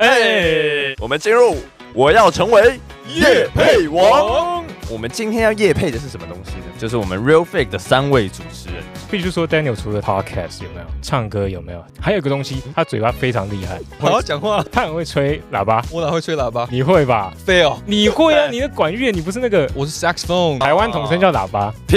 我們進入我要成為業配王。我們今天要業配的是什麼東西呢？就是我們 Real Fake 的3位主持人。 必須說 Daniel 除了 Podcast 有沒有，唱歌有沒有，還有一個東西，他嘴巴非常厲害， 好好講話。 他很會吹喇叭。 我哪會吹喇叭？ 你會吧 ？Fail。 你會啊？你的管樂，你不是那個？ 我是 saxophone。 台灣統稱叫喇叭。 屁！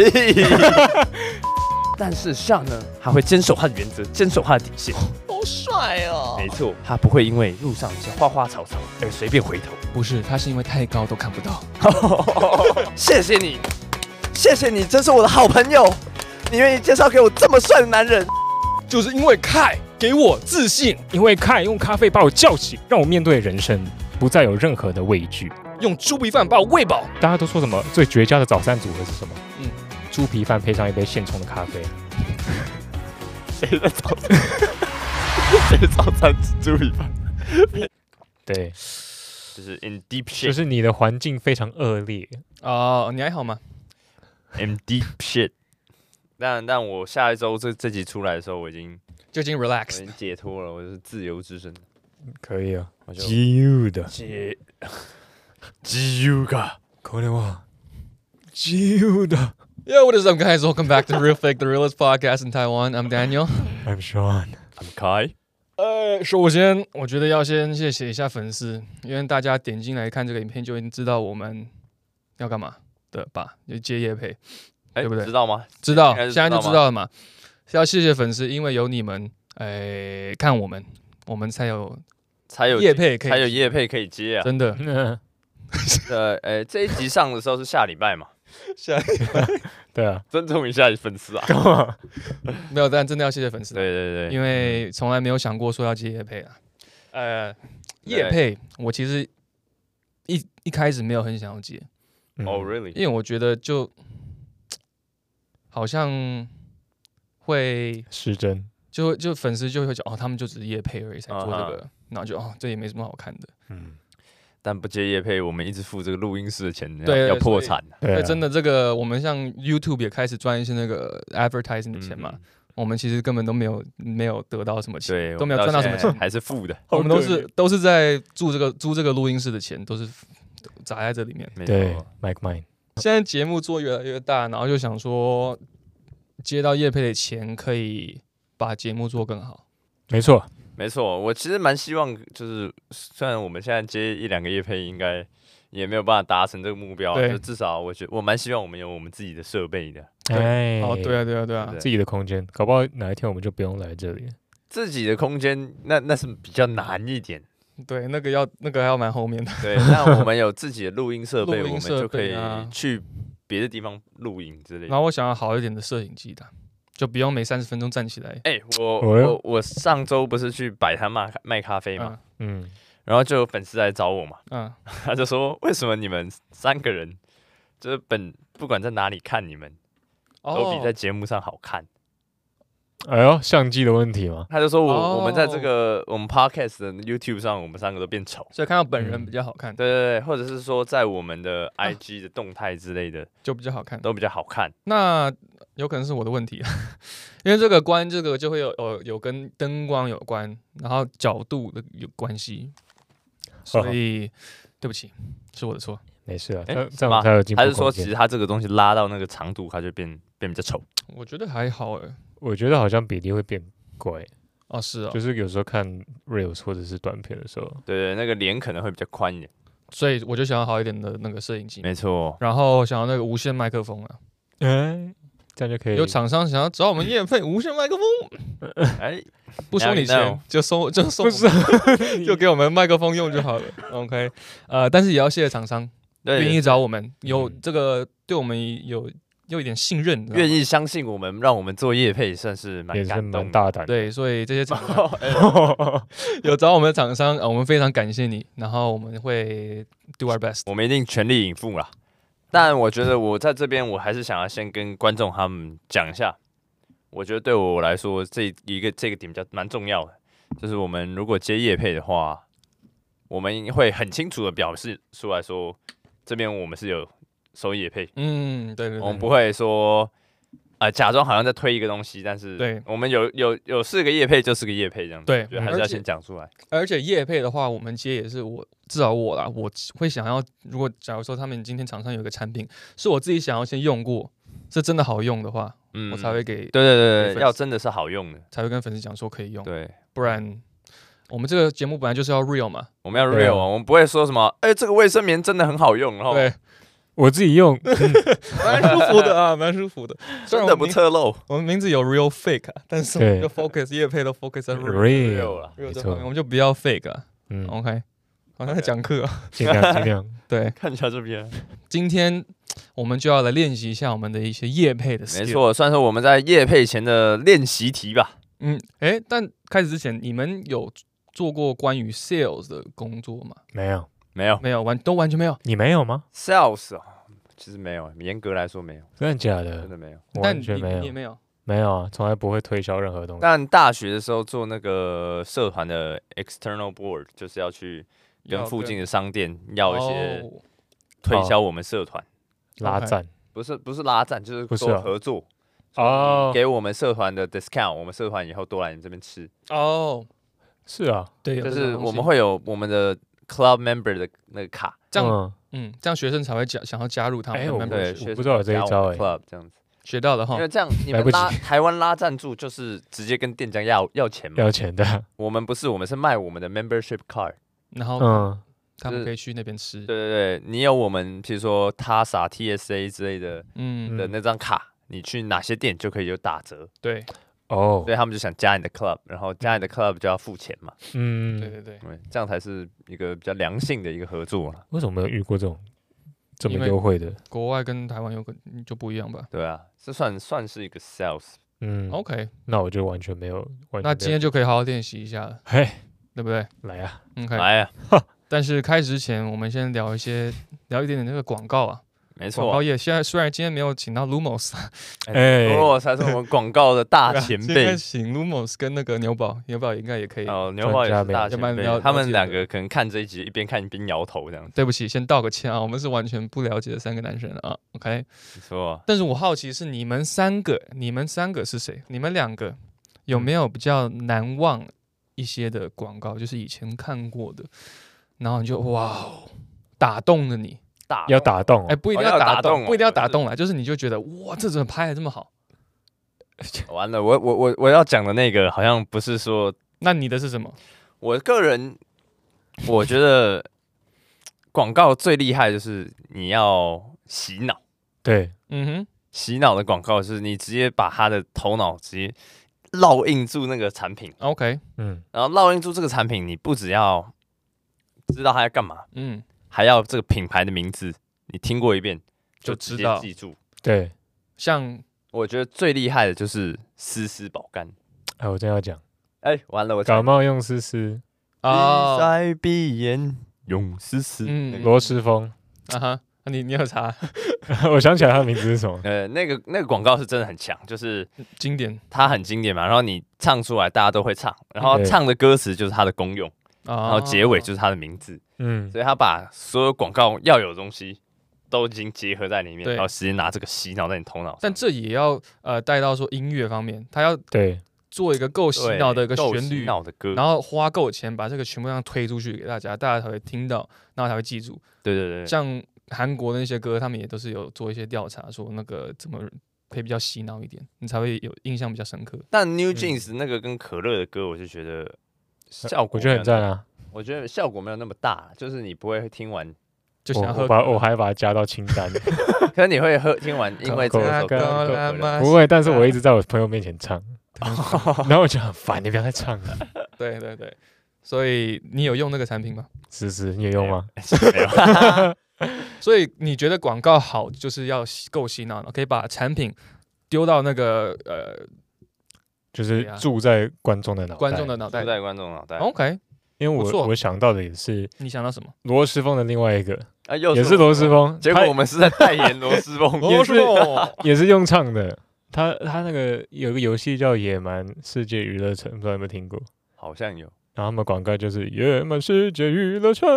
但是 Sean 呢，他會堅守他的原則，堅守他的底線。 好帥哦！ 沒錯，他不会因為路上一些花花草草而隨便回頭。 不是，他是因為太高都看不到。 謝謝你，謝謝你，真是我的好朋友。你願意介紹給我這麼帥的男人， 就是因為Kai給我自信， 因為Kai用咖啡把我叫醒，讓我面对人生不再有任何的畏懼。 用豬皮飯把我餵飽。 大家都說什麼最絕佳的早餐組合是什麼？豬皮飯配上一杯現沖的咖啡。 誰的早餐？誰的早餐是豬皮飯？ 对， 就是 in deep shit， 就是你的環境非常惡劣哦。你還好嗎 ？in deep shit。但我下一周這集出来的時候，我已經 relax， 我已經解脫了，我就是自由之身。 可以啊， 自由的， 自由か。 これは自由的。 Yo, what is up, guys? Welcome back to Real Fake, the realest podcast in Taiwan. I'm Daniel. I'm Sean. I'm Kai. 首先我覺得要先謝謝一下粉絲，因為大家點進來看這個影片就已經知道我們要幹嘛的吧？就接業配。對不對？ 知道嗎？ 知道，現在就知道了嘛。要謝謝粉絲，因為有你們，看我們才有業配可以， 才有業配可以接啊！ 真的。 這一集上的時候是下禮拜嘛？ 下禮拜。 對啊， 尊重一下粉絲啊！ 幹嘛？ 沒有，但真的要謝謝粉絲。 對， 因為從來沒有想過說要接業配啊。業配，我其實一開始沒有很想要接。 Oh really？ 因為我覺得就。好像會失真， 就粉絲就會講哦，他們就只是業配而已才做這個，然後就这也沒什麼好看的。 但不接業配，我們一直付這個錄音室的錢， 對， 要破產。 對，真的這個我們像 YouTube 也開始賺一些那個 advertising 的錢嘛，我們其實根本都沒有得到什麼錢，對，都沒有賺到什麼錢， 還是負的。 我們都是在租這個錄音室的錢，都是砸在這裡面。 對 ，Mike Mine。 現在節目做越來越大，然後就想說接到業配的錢可以把節目做更好。沒錯， 我其實蠻希望，就是雖然我們現在接1-2個業配，應該也沒有辦法達成這個目標，就至少我覺得我蠻希望我們有我們自己的設備的。 對啊， 自己的空間，搞不好哪一天我們就不用來這裡。 自己的空間，那是比較難一點。 對，那個還要蠻後面的。對， 那我們有自己的錄音設備，我們就可以去別的地方錄音之類的。 然後我想要好一點的攝影機的，就不用每30分鐘站起來。 我上周不是去擺攤賣咖啡嘛，然後就有粉絲來找我嘛，他就說為什麼你們3個人就是不管在哪裡看你們，都比在節目上好看。 哎呦，相機的問題嗎？ 他就說我們在這個我們 podcast 的 YouTube 上，我們3個都變醜， 所以看到本人比較好看。 對，或者是說在我們的 IG 的動態之類的，就比較好看，都比較好看。 那有可能是我的問題，因為這個就會有跟燈光有關，然後角度的有關係，所以對不起，是我的錯。 沒事啊，這樣才有進步空間。 還是說其實他這個東西拉到那個長度，它就變比較醜？ 我覺得還好我覺得好像比例會變怪哦，是啊， 就是有時候看 reels 或者是短片的時候， 對，那個臉可能會比較寬一點， 所以我就想要好一點的那個攝影機， 沒錯， 然後想要那個無線麥克風啊， 這樣就可以。 有廠商想要找我們業配無線麥克風，不收你錢，就送，就給我們麥克風用就好了。OK， 但是也要謝謝廠商願意找我們，有這個對我們有一點信任， 願意相信我們，讓我們做業配，算是蠻感動的， 蠻大膽。 對，所以這些廠商有找我們的廠商，我們非常感謝你，然後我們會 do our best， 我們一定全力以赴啦。但我覺得我在這邊，我還是想要先跟觀眾他們講一下，我覺得對我來說，這個點比較蠻重要的，就是我們如果接業配的話，我們會很清楚的表示出來說，這邊我們是有收業配， 對， 我們不會說假裝好像在推一個東西，但是對， 我們有4個業配就是個業配這樣子， 對， 就還是要先講出來。 而且業配的話，我們接也是至少我啦，我會想要，如果假如說他們今天廠商有一個產品是我自己想要先用過，是真的好用的話，我才會給。 对，要真的是好用的， 才會跟粉絲講說可以用。 對， 不然我們這個節目本來就是要 real 嘛， 我們要 real 啊，我們不會說什麼，這個衛生棉真的很好用，然後對。 我自己用， 蠻舒服的啊，蠻舒服的， 真的不側漏。 我們名字有 real fake 啊，但是我們就 focus 業配都 focus 在 real 了，這方面我們就不要 fake 啊。OK， 好像在講課啊， 盡量。 對， 看一下這邊。 今天我們就要來練習一下我們的一些業配的 skill。 沒錯，算是我們在業配前的練習題吧。 但開始之前，你們有做過關於 sales 的工作嗎？ 沒有， 完全沒有。 你沒有嗎 ？Sales 其實沒有，嚴格來說沒有。 真的假的？ 真的沒有， 完全沒有。 你也没有？ 沒有啊，從來不會推銷任何東西。 但大學的時候做那個社團的 external board，就是要去跟附近的商店要一些推銷我們社團拉贊， 不是拉贊，就是說合作給我們社團的 discount， 我們社團以後多來你這邊吃。 是啊， 對， 就是我們會有我們的 club member 的那個卡， 這樣，這樣學生才會想要加入他們的 membership。 我不知道有這一招 ，club 這樣子學到了哈。 因為這樣你们台灣拉贊助就是直接跟店家要錢嘛， 要錢的。 我們不是，我們是賣我們的 membership card， 然後他們可以去那邊吃。 對，你有我們譬如說 TASA、TSA 之類的，的那張卡，你去哪些店就可以有打折。 對。 所以他們就想加你的 club， 然後加你的 club 就要付錢嘛。 對， 這樣才是一個比較良性的一個合作。 為什麼沒有遇過這種這麼優惠的？ 國外跟台灣就不一樣吧？ 對啊，這算是一個 sales。 OK， 那我就完全沒有。 那今天就可以好好練習一下了，對不對？ 來啊 ，OK， 來啊。 但是開始之前，我們先聊一點點那個廣告啊。 沒錯， 廣告業現在雖然今天沒有請到 Lumos， Lumos 才是我們廣告的大前輩。 今天請 Lumos 跟那個牛寶應該也可以。 牛寶也是大前輩，他們兩個可能看這一集一邊看一邊搖頭這樣子。 對不起，先道個歉啊，我們是完全不了解的3個男生啊。OK， 沒錯。但是我好奇是你們三個是誰？你們2個有沒有比較難忘一些的廣告，就是以前看過的，然後你就哇打動了你。 要打動， 不一定要打動，不一定要打動啦，就是你就覺得哇，這怎麼拍得這麼好？ 完了，我要講的那個好像不是說， 那你的是什麼？ 我個人我覺得廣告最厲害就是你要洗腦， 對， 洗腦的廣告就是你直接把他的頭腦直接烙印住那個產品 ，OK， 然後烙印住這個產品，你不只要知道他在幹嘛，還要這個品牌的名字，你聽過一遍就直接記住。 對， 像我覺得最厲害的就是絲絲保肝。 我真要講， 完了，我感冒用絲絲， 鼻塞鼻炎用絲絲， 羅斯風你有查？ 我想起來他的名字是什麼？ 那個廣告是真的很強，就是經典， 它很經典嘛。然後你唱出來，大家都會唱，然後唱的歌詞就是它的功用。然後結尾就是他的名字，所以他把所有廣告要有的東西都已經結合在裡面，然後直接拿這個洗腦在你頭腦上。 但這也要帶到說音樂方面，他要做一個夠洗腦的一個旋律，然後花夠錢把這個全部這樣推出去給大家，大家才會聽到，然後才會記住。 對， 像韓國的那些歌，他們也都是有做一些調查，說那個怎麼可以比較洗腦一點，你才會有印象比較深刻。 但 New Jeans 那個跟可樂的歌，我就覺得。效果我覺得很讚啊！ 我覺得效果沒有那麼大，就是你不會聽完就想喝。 我還把它加到清單。 可是你會聽完，因為這首歌不會，但是我一直在我朋友面前唱，然後我就很煩，你不要再唱了。 對，所以你有用那個產品嗎？ 是，你有用嗎？ 沒有。 所以你覺得廣告好，就是要夠洗腦，可以把產品丟到那個就是住在觀眾的腦袋， 住在觀眾腦袋。 OK， 因為我想到的也是， 你想到什麼？ 羅斯風的另外一個， 也是羅斯風。 結果我們是在代言羅斯風， 也是用唱的。他那個有個遊戲叫《野蠻世界娛樂城》，不知道有沒有聽過？ 好像有。 然後他們廣告就是《野蠻世界娛樂城》，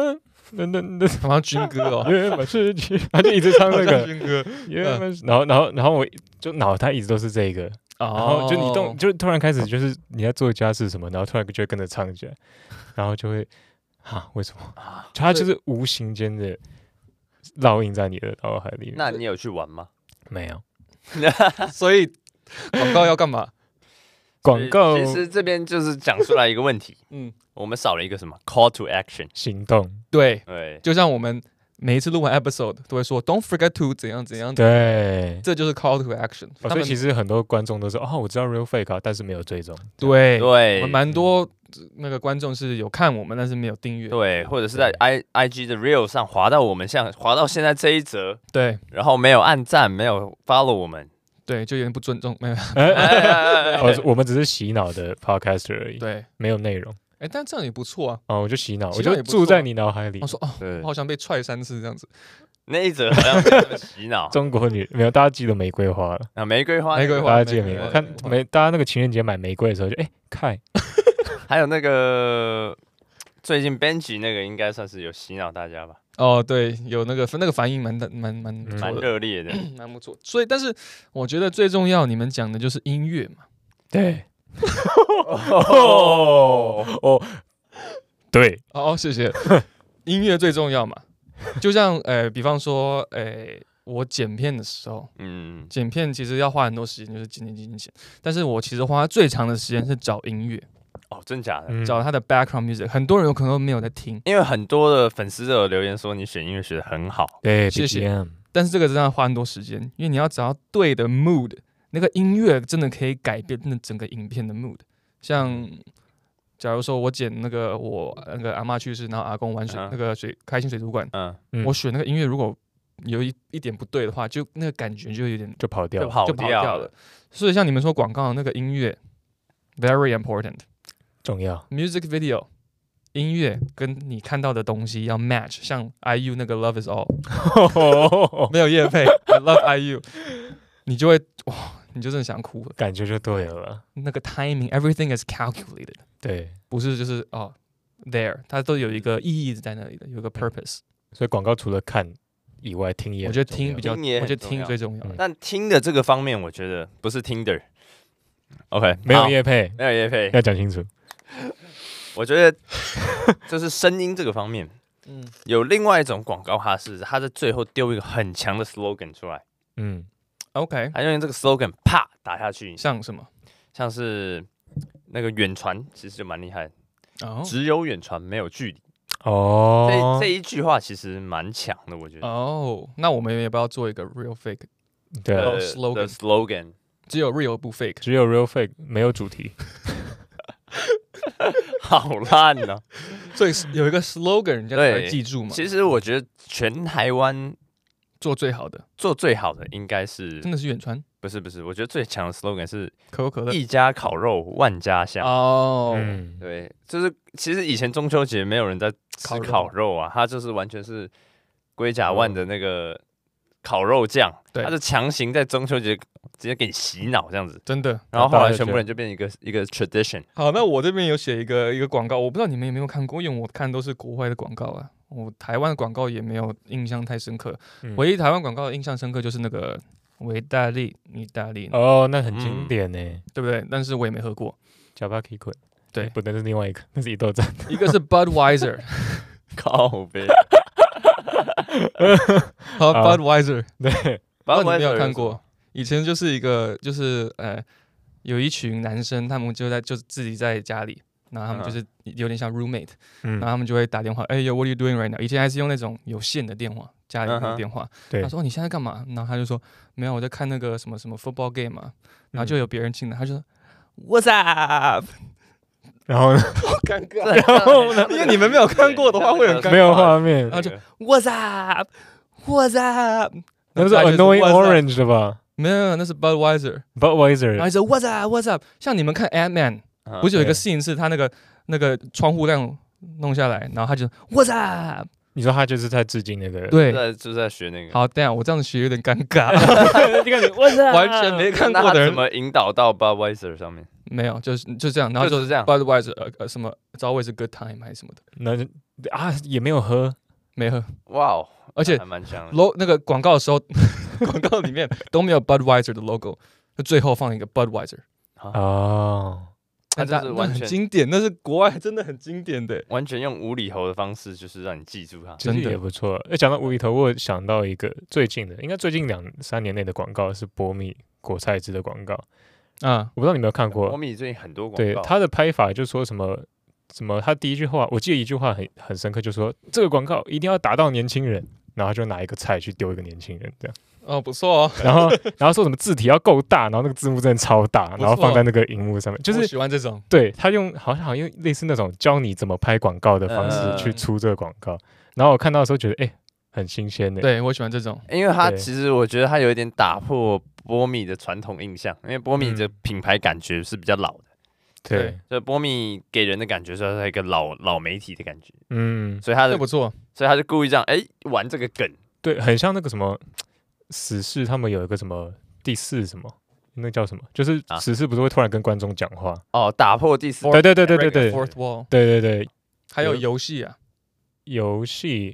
那好像軍歌哦， 原本是他就一直唱那個軍歌， 然後我就腦袋一直都是這個，然後就你就突然開始就是你在做家事什麼，然後突然就會跟着唱起來，然後就會為什麼？就它就是無形間的烙印在你的腦海裡面。 那你有去玩嗎？ 沒有， 所以廣告要幹嘛？ 廣告其實這邊就是講出來一個問題，我們少了一個什麼 call to action 行動， 對，就像我們每一次錄完 episode 都會說 don't forget to 怎樣怎樣， 對， 這就是 call to action。 所以其實很多觀眾都說我知道 real fake 但是沒有追蹤， 對，我們蠻多那個觀眾是有看我們，但是沒有訂閱， 對，或者是在 IG 的 real 上滑到我們，像滑到現在這一則， 對， 然後沒有按讚，沒有 follow 我們。 對，就有點不尊重，沒有。 我們只是洗腦的 podcaster 而已， 對， 沒有內容。 但這樣也不錯啊。 我就洗腦，我就住在你腦海裡。 我說我好像被踹3次這樣子。 那一則好像被洗腦。 中國女沒有，大家記得玫瑰花了啊，玫瑰花， 大家記得玫瑰花。看大家那個情人節買玫瑰的時候就看。 還有那個最近 Benji 那個應該算是有洗腦大家吧。 对，有那個反應蠻熱烈的， 蠻不錯。所以，但是我覺得最重要，你們講的就是音樂嘛。 對。對。 謝謝。音樂最重要嘛。就像比方說，我剪片的時候，剪片其實要花很多時間，就是剪。但是我其實花最長的時間是找音樂。 真假的？ 找他的 background music， 很多人有可能都沒有在聽， 因為很多的粉絲都有留言說你選音樂選得很好， 對， 謝謝。但是這個真的要花很多時間，因為你要找到對的 mood， 那個音樂真的可以改變那整個影片的 mood。像假如說我剪我阿嬤去世，然後阿公玩那個開心水族館，我選那個音樂如果有一點不對的話，就那個感覺就有點就跑掉了。所以像你們說廣告的那個音樂 very important。 重要 music video 音樂跟你看到的東西要 match， 像 IU 那個 Love Is All 沒有業配I love IU， 你就會你就真的想哭了， 感覺就對了。 那個 timing everything is calculated， 對， 不是就是there， 它都有一個意義在那裡的，有個 purpose。 所以廣告除了看以外，聽也， 我覺得聽比較，我覺得聽最重要。 但聽的這個方面，我覺得不是 Tinder。OK， 沒有業配， 沒有業配， 要講清楚。 我覺得就是聲音這個方面，有另外一種廣告，它在最後丟一個很強的 slogan 出來 ，OK， 還用這個 slogan 啪打下去， 像什麼？像是那個遠傳，其實就蠻厲害的，只有遠傳沒有距離。這一句話其實蠻強的，我覺得。 那我們要不要做一個 real fake 的 slogan？ 只有 real 不 fake， 只有 real fake 沒有主題。 好爛哦！ 所以有一個 slogan， 人家才會記住嘛。 其實我覺得全台灣做最好的應該是真的是遠傳， 不是，我覺得最強的 slogan 是可口可樂， 一家烤肉萬家香。對，就是其實以前中秋節沒有人在吃烤肉啊，它就是完全是龜甲萬的那個烤肉醬，它是強行在中秋節直接給你洗腦這樣子， 真的。 然後後來全部人就變成一個 tradition。 好，那我這邊有寫一個廣告，我不知道你們有沒有看過，因為我看都是國外的廣告啊，我台灣的廣告也沒有印象太深刻。唯一台灣廣告的印象深刻就是那個維大利意大利， 那很經典呢， 對不对？但是我也沒喝過。 Jabaki Kun， 對， 不，那是另外一個，那是一豆站， 一個是 Budweiser， 靠北。 好 ，Budweiser， 對， 你沒有看過？以前就是一個，就是有一群男生，他們就自己在家裡，然後他們就是有點像 roommate，然後他們就會打電話，Yo，what are you doing right now？ 以前還是用那種有線的電話，家裡的電話。他說你現在幹嘛？然後他就說沒有，我在看那個什麼 football game 嘛。然後就有別人進來，他就說 What's up？ 然後呢？ 好尷尬。然後呢？因為你們沒有看過的話，會很尷尬。 沒有畫面。 然後就 What's up？What's up？ 那是 Annoying Orange 的吧？ 沒有，那是 Budweiser。 然後就 What's up？What's up？ 像你們看 Ant-Man， 不是有一個 scene 是他那個窗戶這樣弄下來，然後他就 What's up？ 你說他就是在致敬那個？ 對， 就是在學那個。 好，等一下我這樣子學有點尷尬。 你看你 What's up？ 完全沒看過的人怎麼引導到 Budweiser 上面？ 沒有，就這樣，然後就是這樣。 Budweiser 什麼 It's always a good time 還是什麼的。 那也沒有喝。 沒喝。 哇哦， 而且還蠻香的。 那個廣告的時候，廣告裡面都沒有 Budweiser 的 logo， 就最後放一個 Budweiser。 哦， 它就是完全很經典，那是國外真的很經典的， 完全用無厘頭的方式，就是讓你記住它， 真的也不錯。講到無厘頭，我有想到一個最近的，應該最近2-3年內的廣告是波蜜果菜汁的廣告啊，我不知道你有沒有看過。 波蜜最近很多廣告， 對他的拍法就說什麼，他第一句話，我記得一句話很深刻，就說這個廣告一定要打到年輕人，然後就拿一個菜去丟一個年輕人這樣。 哦，不錯哦。 然後說什麼字體要夠大，然後那個字幕真的超大，然後放在那個熒幕上面，就是我喜歡這種。 對，他好像用類似那種教你怎麼拍廣告的方式去出這個廣告。然後我看到的時候覺得，很新鮮的。 對，我喜歡這種， 因為它其實我覺得它有一點打破波蜜的傳統印象，因為波蜜的品牌感覺是比較老的。 對， 所以波蜜給人的感覺是它一個老媒體的感覺。所以這不錯， 所以他就故意這樣玩這個梗。 对，很像那個什麼。死侍他們有一個什麼第4什麼，那叫什麼？就是死侍不是會突然跟觀眾講話哦，打破第4， 對 ，Fourth Wall， 對，還有遊戲啊， 遊戲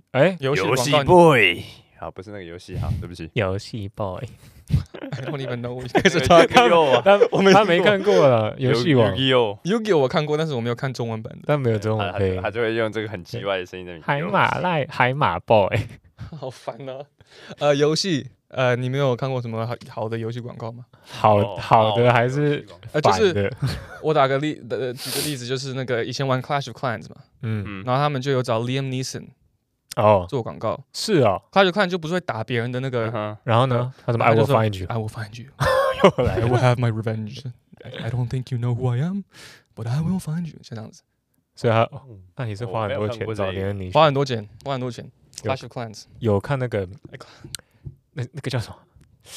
boy， 好，不是那個遊戲，好，對不起， 遊戲 boy，I don't even know， 開始他沒看過了，遊戲王 Yu-Gi-Oh 我看過，但是我沒有看中文版的， 但沒有中文配， 他就會用這個很奇怪的聲音在海馬 boy， 好煩啊，遊戲。你沒有看過什麼好的遊戲廣告嗎？ 好的還是就是我舉個例子，就是那個以前玩 Clash of Clans 嘛，然後他們就有找 Liam Neeson 做廣告， 是啊 ，Clash of Clans 就不是會打別人的那個， 然後呢，他怎麼 I will find you， I will find you， I will have my revenge，I don't think you know who I am，but I will find you， 像這樣子， 所以那你是花很多錢找連你花很多錢 ，Clash of Clans 有看那個。那個叫什麼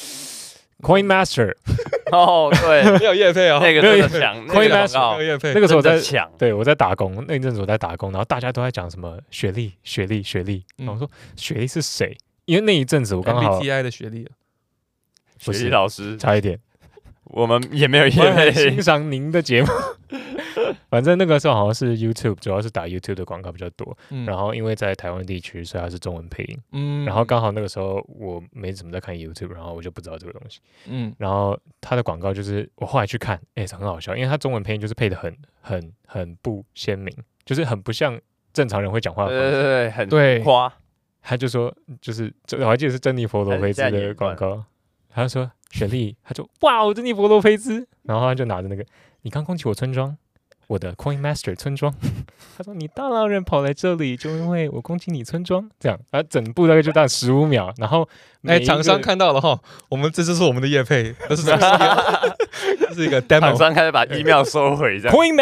？Coin Master 哦，對， 沒有業配哦， 那個真的強 ，Coin Master 沒有業配。 那個時候我在搶，對我在打工，那一陣子我在打工，然後大家都在講什麼雪莉，然後我說雪莉是誰？因為那一陣子我剛好 MBTI 的雪莉， 雪莉老師差一點， 我們也沒有業配， 欣賞您的節目。反正那個時候好像是 YouTube， 主要是打 YouTube 的廣告比較多。然後因為在台灣地區，所以它是中文配音。然後剛好那個時候我沒怎麼在看 YouTube， 然後我就不知道這個東西。然後它的廣告就是我後來去看，很好笑，因為它中文配音就是配的很不鮮明，就是很不像正常人會講話的方式。 對，很誇。 他就說，就是我還記得是珍妮佛羅培茲的廣告，他就說雪莉，他就哇，珍妮佛羅培茲，然後他就拿着那個，你剛攻擊我村莊。我的 Coin Master 村莊，他說你大老遠跑來這裡，就因為我攻擊你村莊，這樣，整部大概就大概15秒，然後廠商看到了哈，我們這就是我們的業配，這是一個 demo， 廠商開始把 email 收回，這樣 Coin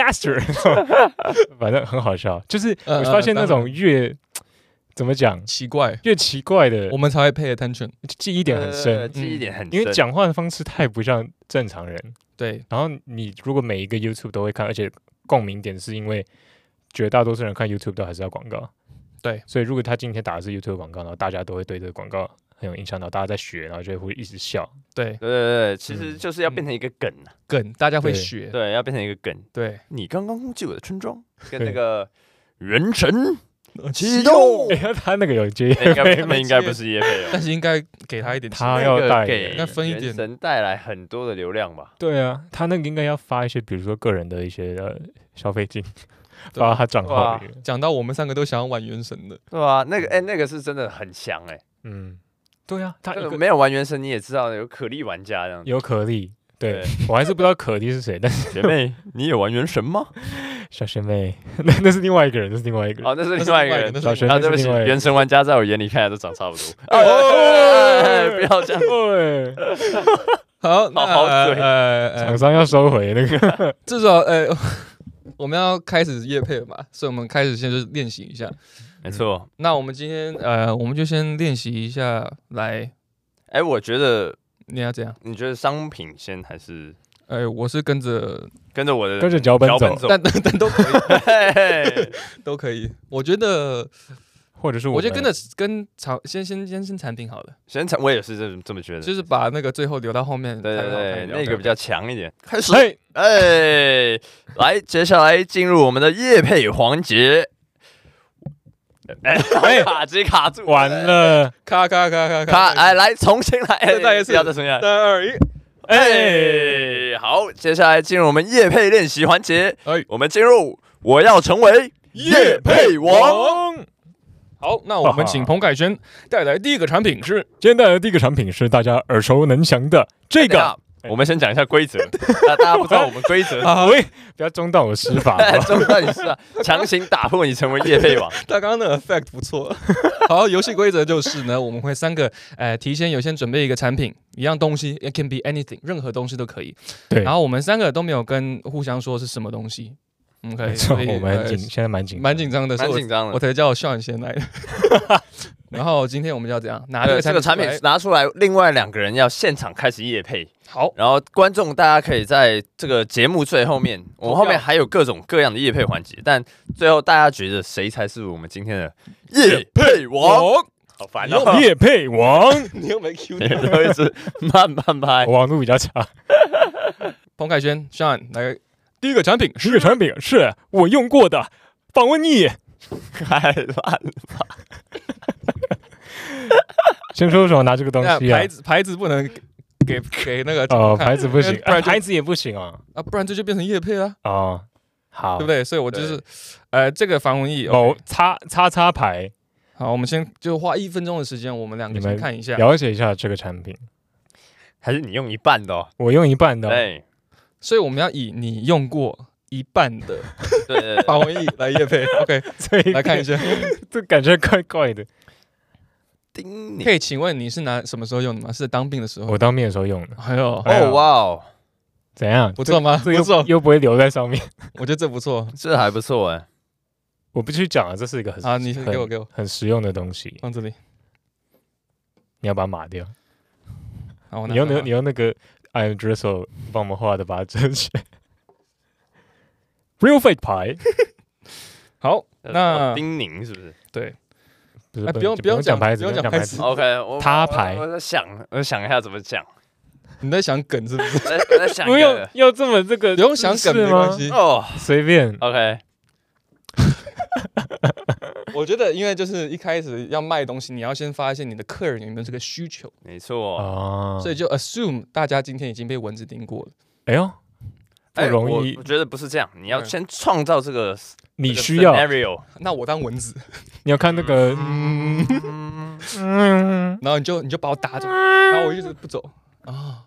Master， 反正很好笑，就是我發現那種怎麼講越奇怪的， 我們才會 pay attention， 記憶點很深，因為講話的方式太不像正常人，對，然後你如果每一個 YouTube 都會看，而且共鳴點是因為絕大多數人看 YouTube 都還是要廣告，對，所以如果他今天打的是 YouTube 廣告，然後大家都會對這個廣告很有影響，然後大家在學，然後就會一直笑， 對，其實就是要變成一個梗， 大家會學， 對，要变成一個梗， 對， 你剛剛攻擊我的村莊，跟那個原神啟動， 他那個有接， 他們應該不是業配， 但是應該給他一點， 他要應該分一點， 原神帶來很多的流量吧？ 對啊，他那個應該要發一些，比如說個人的一些消費金，發到他賬號裡。 講到我們3個都想要玩原神的， 對啊，那個是真的很強對啊，他沒有玩原神你也知道有可莉玩家這樣， 有可莉，對我還是不知道可莉是誰，但是學妹，你有玩原神嗎？ 小學妹，那是另外一個人， 哦，那是另外一個人。 小學妹， 对不起，原神玩家在我眼裡看起來都長差不多。不要這樣。 好， 廠商要收回那個。 至少我們要開始業配了嘛，所以我們開始先就是練習一下。 沒錯。 那我們今天我們就先練習一下來。 我覺得你要怎樣？ 你覺得商品先還是？ 我是跟着我的跟着腳本走， 但都可以，都可以。我覺得， 或者是我觉得跟先產品好了， 我也是這麼覺得， 就是把那個最後留到後面， 對，那個比較強一點。開始，來，接下來進入我們的業配環節。 卡直接卡住， 完了， 卡， 哎，来重新来， 再一次， 要再重新来， 3、2、1， 好，接下來進入我們業配練習環節，我們進入我要成為業配王。 好，那我們請彭凱軒帶來第一個產品是， 今天帶來的第一個產品是大家耳熟能詳的這個。 我們先講一下規則，大家不知道我們規則， 不要中斷我施法， 中斷你施法，強行打破你成為業配王。 他剛剛的 effect 不錯。好，遊戲規則就是呢，我們會3個提前有先準備一個產品，一樣東西 ，it can be anything， 任何東西都可以。 對。 然後我們3個都沒有跟互相說是什麼東西。OK， 所以我們現在蠻緊張的， 我才叫Sean先來的。然後今天我們要怎樣拿這個產品拿出来，另外2個人要現場開始業配。 好， 然後觀眾大家可以在這個節目最後面，我們後面還有各種各樣的業配環節，但最後大家覺得誰才是我們今天的業配王？好煩哦！ 業配王， 你又沒 Q， 你都一直慢慢拍， 我網路比較差。 彭凱軒 Sean 來，第一個產品是我用過的防蚊液， 太爛了吧！ 先說什麼拿這個東西啊？ 牌子不能給那個牌子不行，牌子也不行啊， 不然這就變成業配了哦。好， 對不對？所以我就是這個防蚊液叉牌。 好，我們先就花1分鐘的時間，我們2個先看一下， 了解一下這個產品。 還是你用一半的哦？ 我用一半的。 對， 所以我們要以你用過一半的防蚊液來業配。OK， 所以來看一下， 這感覺怪怪的。 可以請問你是什麼時候用的嗎？是當兵的時候？ 我當兵的時候用的。 哎呦， 哇哦， 怎樣？ 不錯嗎？不錯， 又不會留在上面。 我覺得這不錯， 這還不錯哎。 我必須講啊，這是一個你給我很實用的東西。 放這裡， 你要把它碼掉。 好， 你用那個 Iron Drizzle 幫我們畫的，把它遮起來。Real Fake 牌。好，那叮嚀是不是？ 對。不用講牌子，不用講牌子。 OK， 他牌。 我想一下怎麼講。 你在想梗是不是？ 我在想。 不用要這麼這個， 不用想梗沒關係哦， 隨便。 OK。 我覺得，因為就是一開始要賣東西，你要先發現你的客人有沒有這個需求。 沒錯。 所以就 assume 大家今天已經被蚊子叮過了。 哎呦，不容易。 我覺得不是這樣，你要先創造這個你需要 scenario。 那我當蚊子， 你要看那個， 然後你就把我打走，然後我一直不走啊。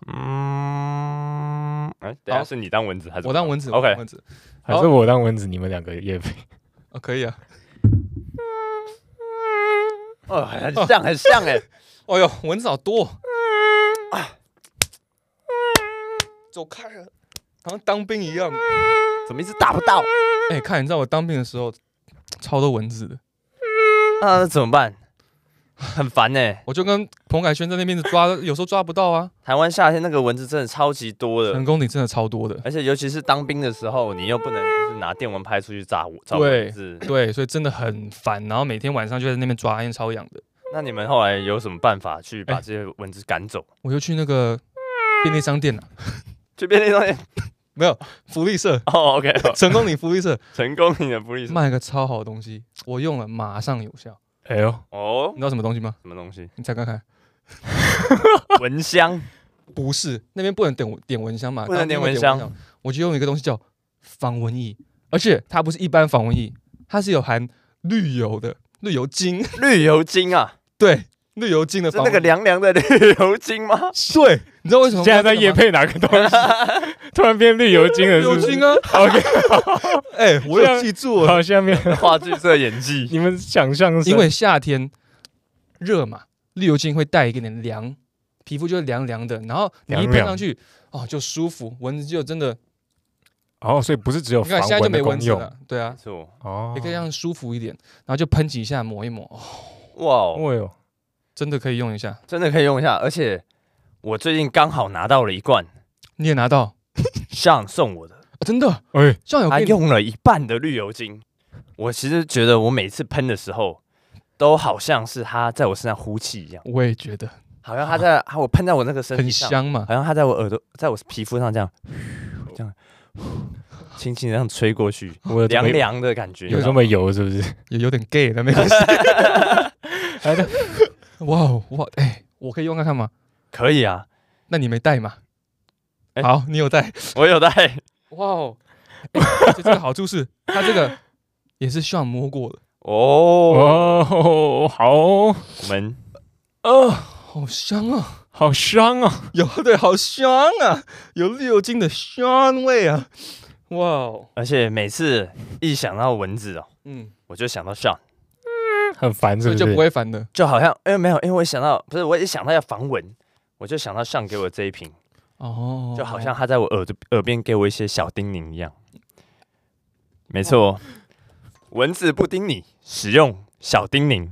等下是你當蚊子還是我當蚊子 ？OK， 還是我當蚊子？你們2個業配。 可以啊。 很像哎。 哎呦，蚊子好多。走開了，好像當兵一樣。 怎麼一直打不到？ 看，你知道我當兵的時候超多蚊子的。 那怎麼辦？很煩哎。 我就跟彭凱軒在那邊抓，有時候抓不到啊。 台灣夏天那個蚊子真的超級多的， 成功率真的超多的。 而且尤其是當兵的時候，你又不能就是拿電蚊拍出去炸蚊子。 对，所以真的很煩。然後每天晚上就在那邊抓，因為超癢的。 那你們後來有什麼辦法去把這些蚊子趕走？ 我就去那個便利商店了。 去便利商店？ 沒有，福利社。 OK， 成功嶺福利社， 成功嶺的福利社賣一個超好的東西，我用了馬上有效。 哎呦， 你知道什麼東西嗎？ 什麼東西？ 你猜看看。 蚊香？ 不是，那邊不能點蚊香嘛？ 不能點蚊香。 我就用一個東西叫防蚊液，而且它不是一般防蚊液，它是有含綠油的綠油精。 綠油精啊？ 對。綠油精的防蚊液， 是那個涼涼的綠油精嗎？ 對，你知道為什麼現在在業配哪個東西？突然變綠油精了，綠油精啊 ！OK， 我有記住了。 好，下面話劇社演技， 你們想象， 因為夏天熱嘛，綠油精會帶一點點涼，皮膚就會涼涼的，然後你一噴上去，就舒服，蚊子就真的。 所以不是只有防蚊的功用， 你看现在就沒蚊子了，对啊， 也可以讓舒服一點，然後就噴幾下，抹一抹， 哇哦。 真的可以用一下， 而且我最近剛好拿到了一罐， 你也拿到 ，Sean送我的， 真的， 他用了一半的綠油精，我其實覺得我每次噴的時候，都好像是他在我身上呼氣一樣， 我也覺得， 好像我噴在我那個身體上， 很香嘛， 好像他在我耳朵，在我皮膚上這樣， 輕輕的這樣吹過去，涼涼的感覺， 有這麼油是不是？ 有點 gay 的沒關係。哇，我可以用看看嗎？ 可以啊。 那你沒帶嗎？好，你有帶， 我有帶。 哇哦，而且這個好處是，它這個也是Sean摸過的。 哦，好，我們好香啊， 好香啊， 对，好香啊，有6斤的香味啊，哇哦！ 而且每次一想到蚊子我就想到Sean， 很煩是不是？ 就不會煩的， 就好像没有，因為我想到不是，我一想到要防蚊，我就想到Sean給我這一瓶，就好像他在我耳邊給我一些小叮嚀一樣。沒錯，蚊子不叮你，使用小叮嚀。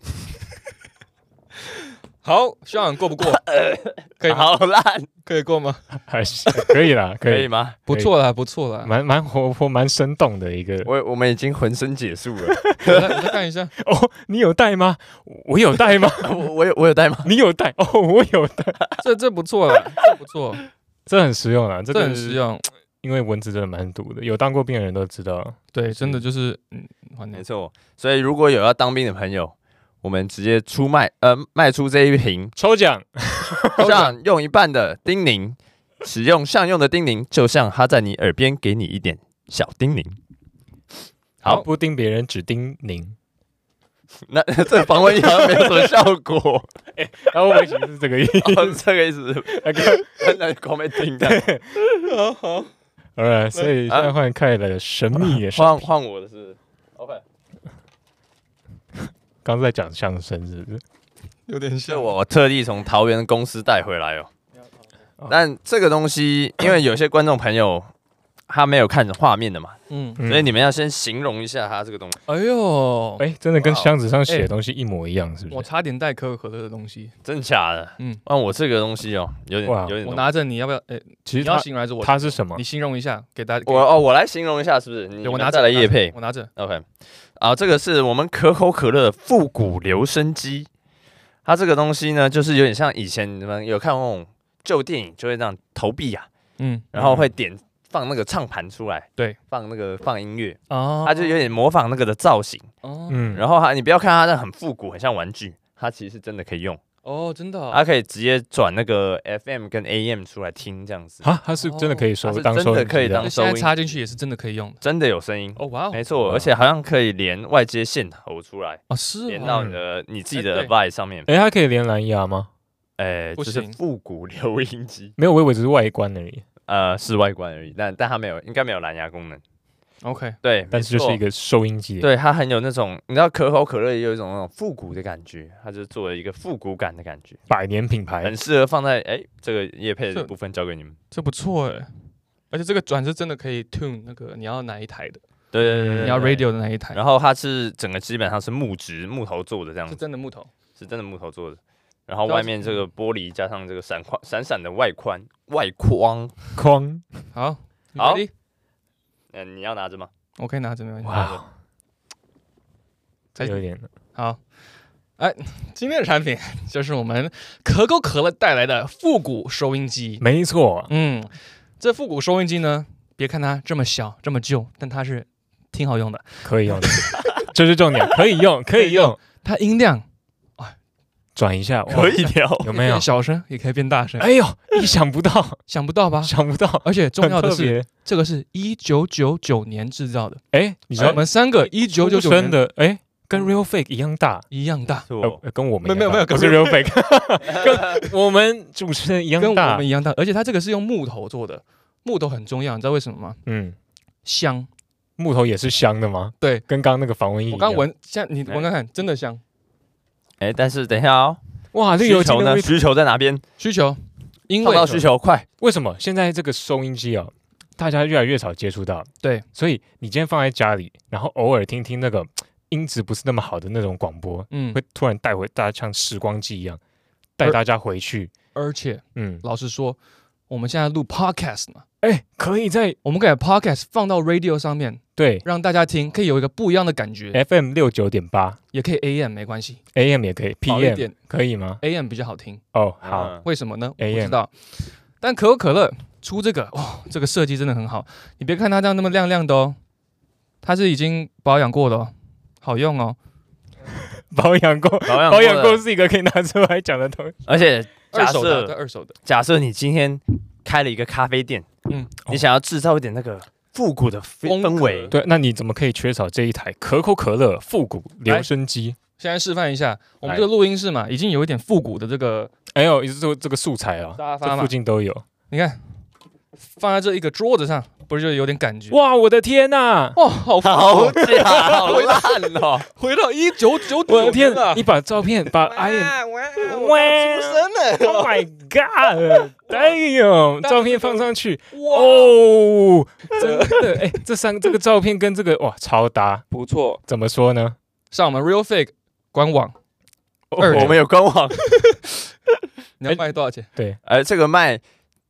好，Sean過不過？可以嗎？ 好爛， 可以過嗎？ 還是可以啦， 可以嗎？ 不錯啦，不錯啦， 蠻活潑、蠻生動的一個。我們已經渾身解數了。 我再看一下。 哦，你有帶嗎？我有帶嗎？ 我有帶嗎？ 你有帶？哦，我有帶。 這不錯啦，這不錯， 這很實用啊， 這很實用。 因為蚊子真的蠻毒的，有當過兵的人都知道。 對，真的就是沒錯。所以如果有要當兵的朋友，我們直接賣出這一瓶抽獎， 像用一半的叮嚀，使用Sean用的叮嚀，就像他在你耳邊給你一點小叮嚀。 好，不叮別人，只叮嚀。 那這防蚊液好像沒有什麼效果。 然後我其實是這個意思， 這個意思。那光沒聽到。 好。 所以現在換凱的神秘的換我的是 OK。 剛在講相聲是不是？ 有點像。 我特地從桃園公司帶回來哦。但這個東西，因為有些觀眾朋友他沒有看着畫面的嘛，所以你們要先形容一下它這個東西。 哎呦， 真的跟箱子上寫的東西一模一樣，是不是？ 我差點帶可口可樂的東西， 真假的？我這個東西有點， 我拿着，你要不要？ 其實你要形容還是我？ 它是什麼？ 你形容一下，給大家。 我來形容一下，是不是？ 我拿着来業配， 我拿着。 OK，這個是我們可口可樂的復古留聲機。它這個東西呢，就是有點像以前你們有看那種舊電影，就會這樣投幣啊，然後會放那個唱盤出來， 對， 放音樂，它就有點模仿那個的造型，然後你不要看它那很復古，很像玩具，它其實是真的可以用。 真的， 它可以直接轉那個 FM 跟 AM 出來聽這樣子。 它是真的可以當收音機， 真的可以當收音， 現在插進去也是真的可以用， 真的有聲音。 哇， 沒錯，而且好像可以連外接線頭出來， 是連到你自己的 device 上面。 它可以連藍牙嗎？ 就是復古留音機， 沒有，我以為只是外觀而已。 是外觀而已，但它沒有，應該沒有藍牙功能。 OK， 對， 但是就是一個收音機。 對，它很有那種，你知道可口可樂也有一種那種復古的感覺，它就做了一個復古感的感覺， 百年品牌， 很適合放在這個業配的部分交給你們。 這不錯而且這個轉是真的可以 tune 那個你要哪一台的， 對， 你要 radio 的那一台。 然後它是整個基本上是木頭做的這樣子， 是真的木头做的。然後外面這個玻璃加上這個閃閃的外框。 好， 你要拿着嗎？ 我可以拿着，沒關係。 哇，有點好。今天的產品就是我們可口可樂帶來的復古收音機。 沒錯， 這復古收音機呢，別看它這麼小這麼舊，但它是挺好用的， 可以用的，這是重點，可以用。 它音量。 轉一下可以調， 有沒有？變小聲也可以變大聲。 哎呦，意想不到， 想不到吧？ 想不到， 而且重要的是，這個是1999年制造的。 你知道我們3個1999年的，跟 Real Fake 一樣大，跟我們沒有， 不是 Real Fake， 跟我們主持人一樣大， 跟我們一樣大。而且它這個是用木頭做的，木頭很重要，你知道為什麼嗎？香， 木頭也是香的嗎？對，跟剛剛那個防蚊液一樣。 我剛聞，現在你聞看看，真的香。 但是等一下哦， 哇， 需求呢？需求在哪邊？ 需求，因为需求快。 為什麼現在這個收音機大家越來越少接觸到？ 對， 所以你今天放在家裡，然後偶爾聽聽那個音質不是那麼好的那種廣播，會突然帶回大家像時光機一樣，帶大家回去。 而且，老實說，我們現在錄 podcast 嘛， 可以我們可以把 podcast 放到 radio 上面。對，讓大家聽，可以有一個不一樣的感覺。 FM 69.8，也可以 AM 沒關係 ，AM 也可以 ，PM 可以嗎 ？AM 比較好聽。 好， 為什麼呢？我不知道。但可口可樂出這個這個設計真的很好。你別看它這樣那麼亮亮的哦，它是已經保養過的哦，好用哦。 保養過是一個可以拿出来講的東西。 而且二手的。 假設你今天開了一個咖啡店，你想要製造一點那個復古的氛圍， 對，那你怎麼可以缺少這一台可口可樂復古留聲機？ 現在示範一下，我們這個錄音室嘛，已經有一點復古的這個， 這個素材啊， 這附近都有。 你看，放在這一個桌子上，不是就有點感覺？ 哇，我的天哪！ 哇，好假，好爛哦！ 回到1999， 我的天啊！你把照片把出生了 ！Oh my god！Damn！照片放上去，哦，真的，这个照片跟這個哇超搭， 不錯。 怎麼說呢？ 上我們 Real Fake 官網， 我們有官網。 你要賣多少錢？ 對， 這個賣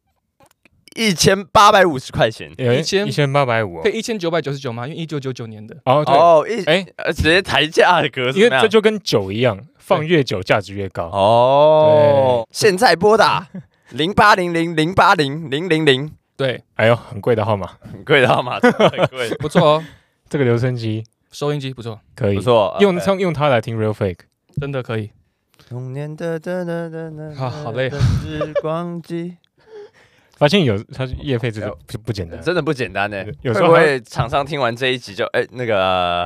1850塊錢 ，1850， 可以1999嗎？因為1999年的。 直接抬價的格式， 因為這就跟酒一樣，放越久價值越高。 哦，現在撥打0800080000。對， 哎呦，很貴的號碼， 很貴的號碼，很貴， 不錯哦。 這個留聲機、 收音機不錯， 可以， 不錯， 用它來聽 Real Fake， 真的可以。好累。時光機。 發現它業配這個就不簡單， 真的不簡單呢。 有時候會廠商聽完這一集就那個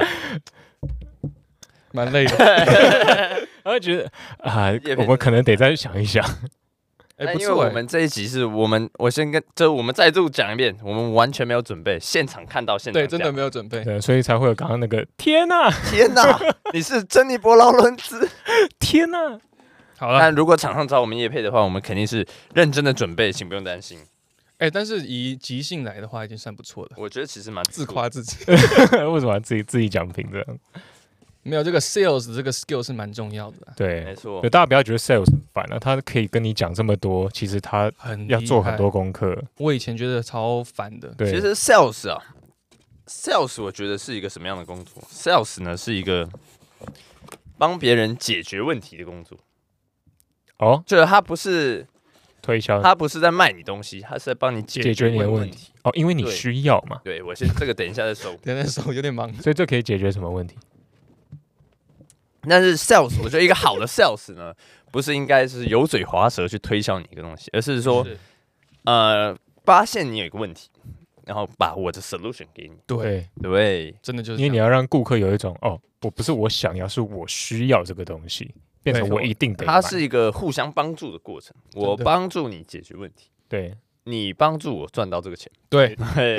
蠻累的， 他會覺得我們可能得再想一想。 因為我們這一集是我們再度講一遍，我們完全沒有準備，現場看到現場， 對，真的沒有準備， 對，所以才會有剛剛那個天哪， 你是珍妮佛勞倫茲， 天哪。 好了， 但如果廠商找我們業配的話，我們肯定是認真的準備，請不用擔心。 但是以即興來的話，已經算不錯了。 我覺得其實蠻自誇自己， 為什麼要自己講評這樣？ 沒有這個 sales 這個 skill 是蠻重要的。 對， 沒錯。 大家不要覺得 sales 很煩啊，他可以跟你講這麼多，其實他要做很多功課。 我以前覺得超煩的。 對，其實 sales 我覺得是一個什麼樣的工作 ？sales 呢是一個幫別人解決問題的工作。就是他不是推銷， 他不是在賣你東西，他是在幫你解決你的問題。 因為你需要嘛。 對，我先這個等一下再收， 有點忙， 所以這可以解決什麼問題？ 但是 sales， 我覺得一個好的 sales 呢，不是應該是油嘴滑舌去推銷你一個東西，而是說，發現你有一個問題，然後把我的 solution 給你。 對，真的就是因為你要讓顧客有一種我不是我想要，是我需要這個東西。變成我一定得買， 它是一個互相幫助的過程。我幫助你解決問題， 對， 你幫助我賺到這個錢， 對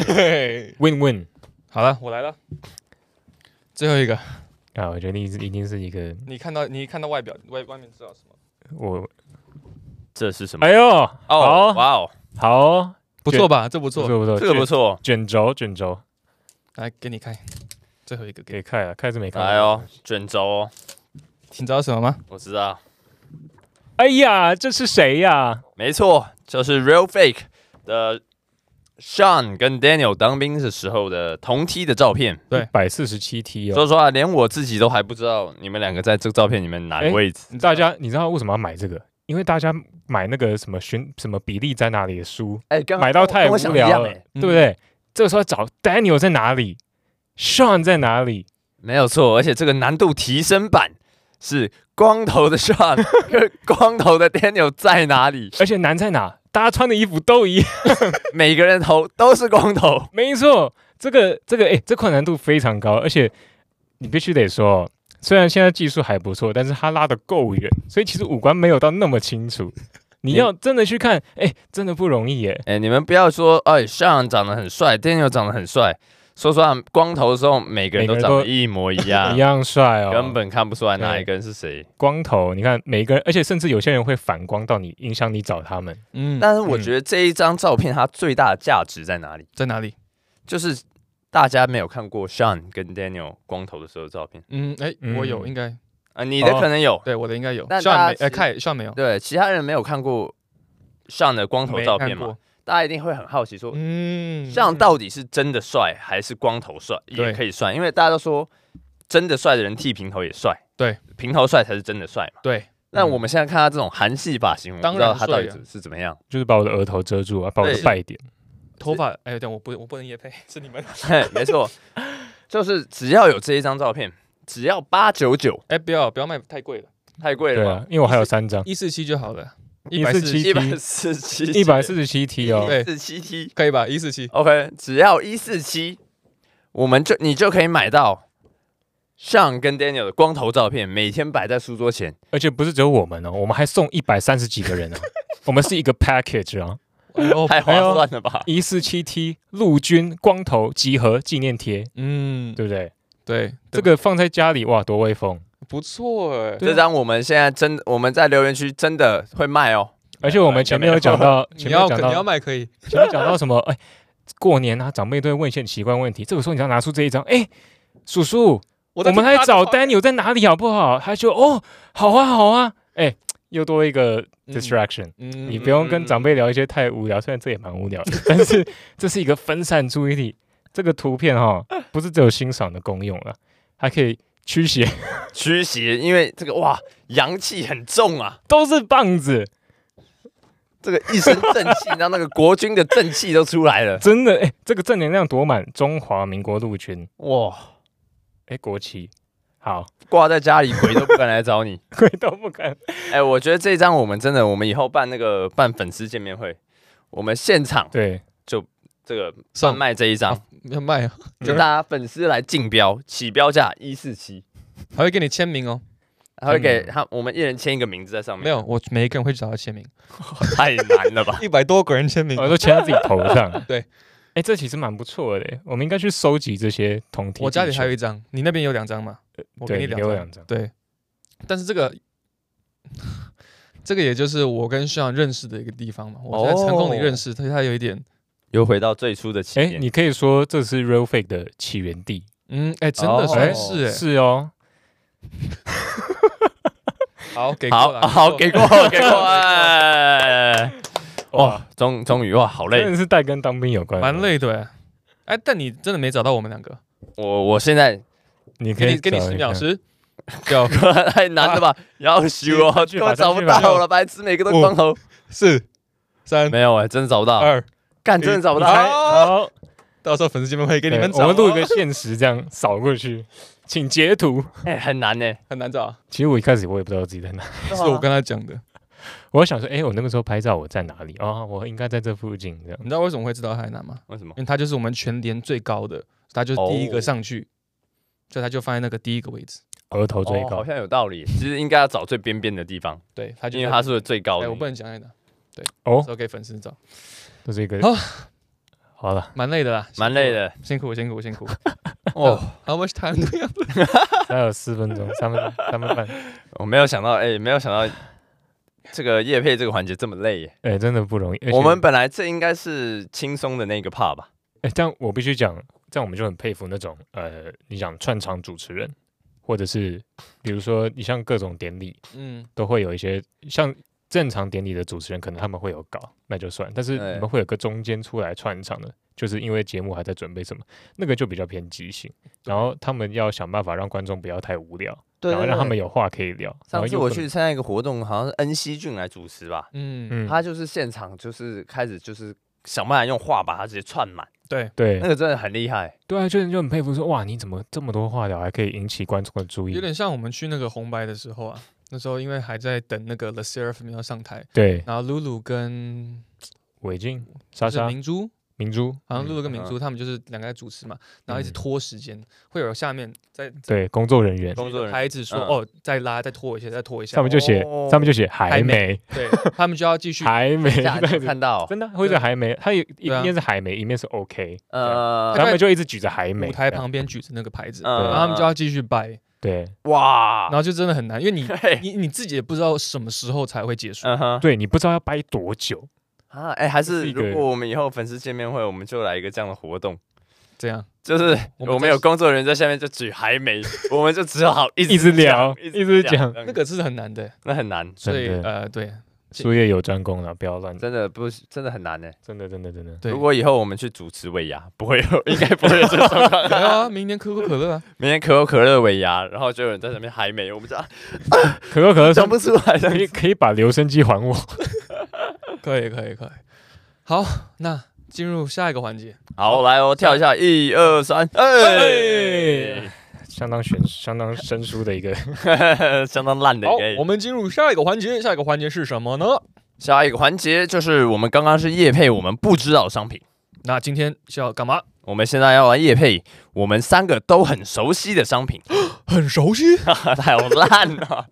，win win。 好了，我來了，最後一個我覺得你一定是一個。 你看到外表，外面知道什麼？ 這是什麼？ 哎呦， 哇哦， 好， 不錯吧？這不錯， 這個不錯。卷軸， 來給你看，最後一個可以看了，看是沒看。 來哦，卷軸。 你知道什麼嗎？ 我知道。 哎呀，這是誰呀？ 沒錯，就是 Real Fake 的 Sean 跟 Daniel 當兵的時候的同梯的照片。 對，147T 說實話，連我自己都還不知道你們兩個在這個照片裡面哪個位置。 大家，你知道為什麼要買這個？因為大家買那個什麼比例在哪裡的書，買到太無聊了，對不對？這個時候要找 Daniel 在哪裡 ，Sean 在哪裡？ 沒有錯，而且這個難度提升版。是光頭的 Sean 跟光頭的 Daniel 在哪裡？ 而且難在哪？大家穿的衣服都一樣， 每個人頭都是光頭。 沒錯，這款難度非常高，而且你必須得說，雖然現在技術還不錯，但是他拉得夠遠，所以其實五官沒有到那麼清楚。你要真的去看，真的不容易耶。 你們不要說，Sean 長得很帥 ，Daniel 長得很帥。說實話，光頭的時候，每個人都長得一模一樣， 一樣帥哦， 根本看不出來哪一個人是誰。 光頭，你看每個人，而且甚至有些人會反光到你，影響你找他們。 但是我覺得這一張照片它最大的價值在哪裡？ 在哪裡？ 就是大家沒有看過 Sean 跟 Daniel 光頭的時候的照片。 我有，應該你的可能有， 對，我的應該有。 但 Sean 沒有， 對，其他人沒有看過 Sean 的光頭照片嘛？大家一定會很好奇說，Sean 到底是真的帥還是光頭帥也可以帥？因為大家都說真的帥的人剃平頭也帥， 對， 平頭帥才是真的帥嘛。 對， 那我們現在看他這種韓系髮型，我不知道他到底是怎麼樣， 就是把我的額頭遮住啊，把我的敗點。 頭髮，哎，等我不能業配，是你們。 沒錯，就是只要有這一張照片，只要899。 哎，不要賣太貴了， 太貴了吧？ 因为我還有3張 ，147就好了。 147T 哦， 对 ，147T 可以吧？147 OK， 只要147，你就可以買到 Sean 跟 Daniel 的光頭照片，每天擺在書桌前， 而且不是只有我們哦，我們還送130幾個人哦，我們是一個 package 啊， 太划算了吧 ？147T 陸軍光頭集合紀念貼，對不對？ 對， 這個放在家裡哇，多威風！ 不錯哎， 這張我們現在我們在留言區真的會賣哦， 而且我們前面有講到， 你要賣可以， 前面講到什麼？哎，過年啊，長輩都會問一些很奇怪問題，這個時候你要拿出這一張，哎，叔叔，我們來找 Daniel 在哪裡好不好？他就好啊，哎，又多一個 distraction，你不用跟長輩聊一些太無聊，雖然這也蠻無聊的，但是這是一個分散注意力。這個圖片不是只有欣賞的功用了，還可以驅邪， 因為這個哇，陽氣很重啊， 都是棒子， 這個一身正氣，讓那個國軍的正氣都出來了， 真的，這個正能量多滿，中華民國陸軍， 哇， 國旗好掛在家裡，鬼都不敢來找你， 鬼都不敢， 我覺得這張我們以後辦粉絲見面會，我們現場對就這個販賣這一張。 要賣啊！ 就大家粉絲來競標，起標價147， 還會給你簽名哦， 還會給我們一人簽一個名字在上面。 沒有，我每一個人會找他簽名， 太難了吧 ？100多個人簽名， 我都簽在自己頭上。 對， 這其實蠻不錯的，我們應該去收集這些同體。 我家裡還有一張，你那邊有2張嗎？我給你2張。對，但是這個也就是我跟Sean認識的一個地方嘛，我在成功裡認識，所以他有一點。 又回到最初的起點， 你可以說這是 Real Fake 的起源地。 真的算是是哦。 好，給過了， 給過。哇，終於哇，好累， 真的是帶跟當兵有關， 蠻累的。但你真的沒找到我們2個。 我現在你可以給你10秒，10、 9，太難了吧？要修哦，根本找不到了，白痴，每個都光頭。 4、3， 沒有真的找不到。 2。 幹，真的找不到。 好， 到時候粉絲見面會給你們找。 我們錄一個限時，這樣掃過去，請截圖。 很難很難找。 其實我一開始我也不知道自己在哪， 是我跟他講的。 我想說，我那個時候拍照我在哪裡？我應該在這附近。這樣， 你知道為什麼會知道海南嗎？ 為什麼？ 因為他就是我們全連最高的，他就是第一個上去，所以他就放在那個第一個位置， 額頭最高。 好像有道理。其實應該要找最邊邊的地方。 對， 因為他是最高的。 我不能講在哪。對，都給粉絲找。 這是一個。好了， 蠻累的啦， 蠻累的， 辛苦。 哦 ，How much time do we have？ 還有4分鐘，3分半。 我沒有想到，這個業配這個環節這麼累耶， 真的不容易。 我們本來這應該是輕鬆的那個 part 吧？ 這樣我必須講，這樣我們就很佩服那種你講串場主持人，或者是比如說你像各種典禮，都會有一些像。正常典禮的主持人可能他們會有稿，那就算。但是你們會有個中間出來串場的，就是因為節目還在準備什麼，那個就比較偏即興。然後他們要想辦法讓觀眾不要太無聊，然後讓他們有話可以聊。 上次我去參加一個活動，好像是恩熙俊來主持吧，他就是現場就是開始就是想辦法用話把它直接串滿。 對， 那個真的很厲害。 對啊，就很佩服說，哇，你怎麼這麼多話聊，還可以引起觀眾的注意？ 有點像我們去那個紅白的時候啊。那時候因為還在等那個 The Seraphim 要上台， 對， 然後露露跟偉靜、莎莎、明珠， 好像露露跟明珠他們就是2個在主持嘛，然後一直拖時間，會有下面對工作人員牌子說再拉再拖一下， 上面就寫還沒， 對他們就要繼續還沒看到真的或者還沒，他一面是還沒，一面是 OK，他們就一直舉着還沒， 舞台旁邊舉着那個牌子，然後他們就要繼續掰。 對， 哇， 然後就真的很難，因為你自己也不知道什麼時候才會結束， 對，你不知道要掰多久啊？還是如果我們以後粉絲見面會，我們就來一個這樣的活動， 這樣就是我們有工作人員在下面就舉還沒，我們就只好一直聊，一直講， 那個是很難的， 那很難， 所以對， 術業有專攻了，不要亂。 真的不是，真的很難呢。 真的。 對， 如果以後我們去主持尾牙，不會有，應該不會有這種狀況。 沒有啊，明年可口可樂啊， 明年可口可樂尾牙，然後就有人在那邊還沒，我們講可口可樂講不出來， 可以把留聲機還我。 可以。好，那進入下一個環節。 好，來我跳一下，1、2、3， 相當生疏的一個， 相當爛的一個。 好，我們進入下一個環節。下一個環節是什麼呢？ 下一個環節就是我們剛剛是業配我們不知道的商品。 那今天是要幹嘛？ 我們現在要來業配我們3個都很熟悉的商品。 很熟悉？ 太爛了。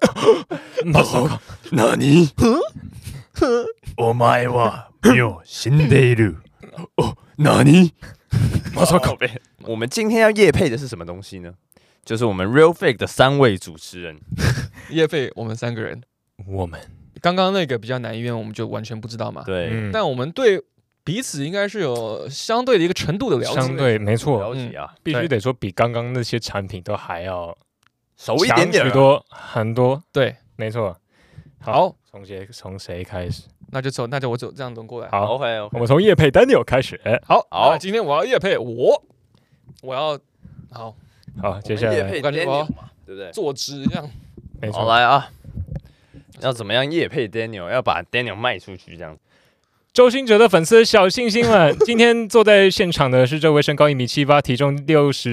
何？お前はもう死んでいる。何？我們今天要業配的是什麼東西呢？就是我們 Real Fake 的3位主持人業配我們3個人。 我們剛剛那個比較難，因為我們就完全不知道嘛。 對， 但我們對彼此應該是有相對的一個程度的了解。 相对沒錯， 了解啊， 必須得說比剛剛那些產品都還要熟一點點， 很多。 對， 沒錯。 好， 從誰開始？ 那就我走這樣輪過來。 好 ，OK， 我們從業配 Daniel 開始。 好，今天我要業配我要好，接下來我感覺我要對不對？ 坐直這樣。 沒錯， 好來啊，要怎麼樣業配 Daniel？ 要把 Daniel 賣出去這樣。 周興哲的粉絲小星星們，今天坐在現場的是這位身高1.78米，體重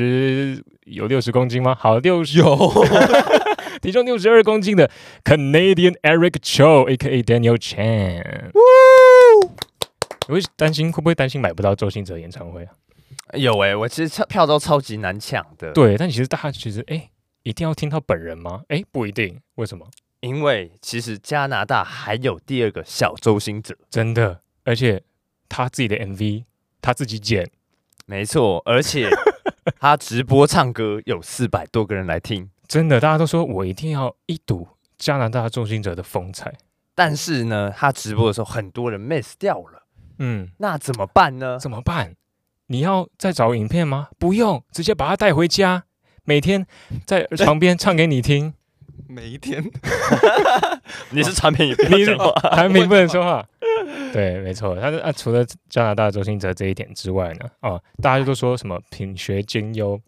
60公斤嗎？好，60有。體重62公斤的 Canadian Eric Cho，A.K.A. Daniel Chan。你會不會擔心買不到周興哲演唱會啊？ 有我其實票都超級難搶的。 對，但其實大家一定要聽到本人嗎？不一定。為什麼？ 因為其實加拿大還有第2個小周興哲， 真的，而且他自己的 MV 他自己剪， 沒錯，而且他直播唱歌有400多個人來聽。 真的，大家都說我一定要一睹加拿大周興哲的風采。 但是呢，他直播的時候很多人 miss 掉了。那怎麼辦呢？ 怎麼辦？你要再找影片嗎？不用，直接把他帶回家，每天在床邊唱給你聽。 每一天？ 你是產品，你是產品不能說話。對，沒錯。他除了加拿大周興哲這一點之外呢，大家都說什麼品學兼優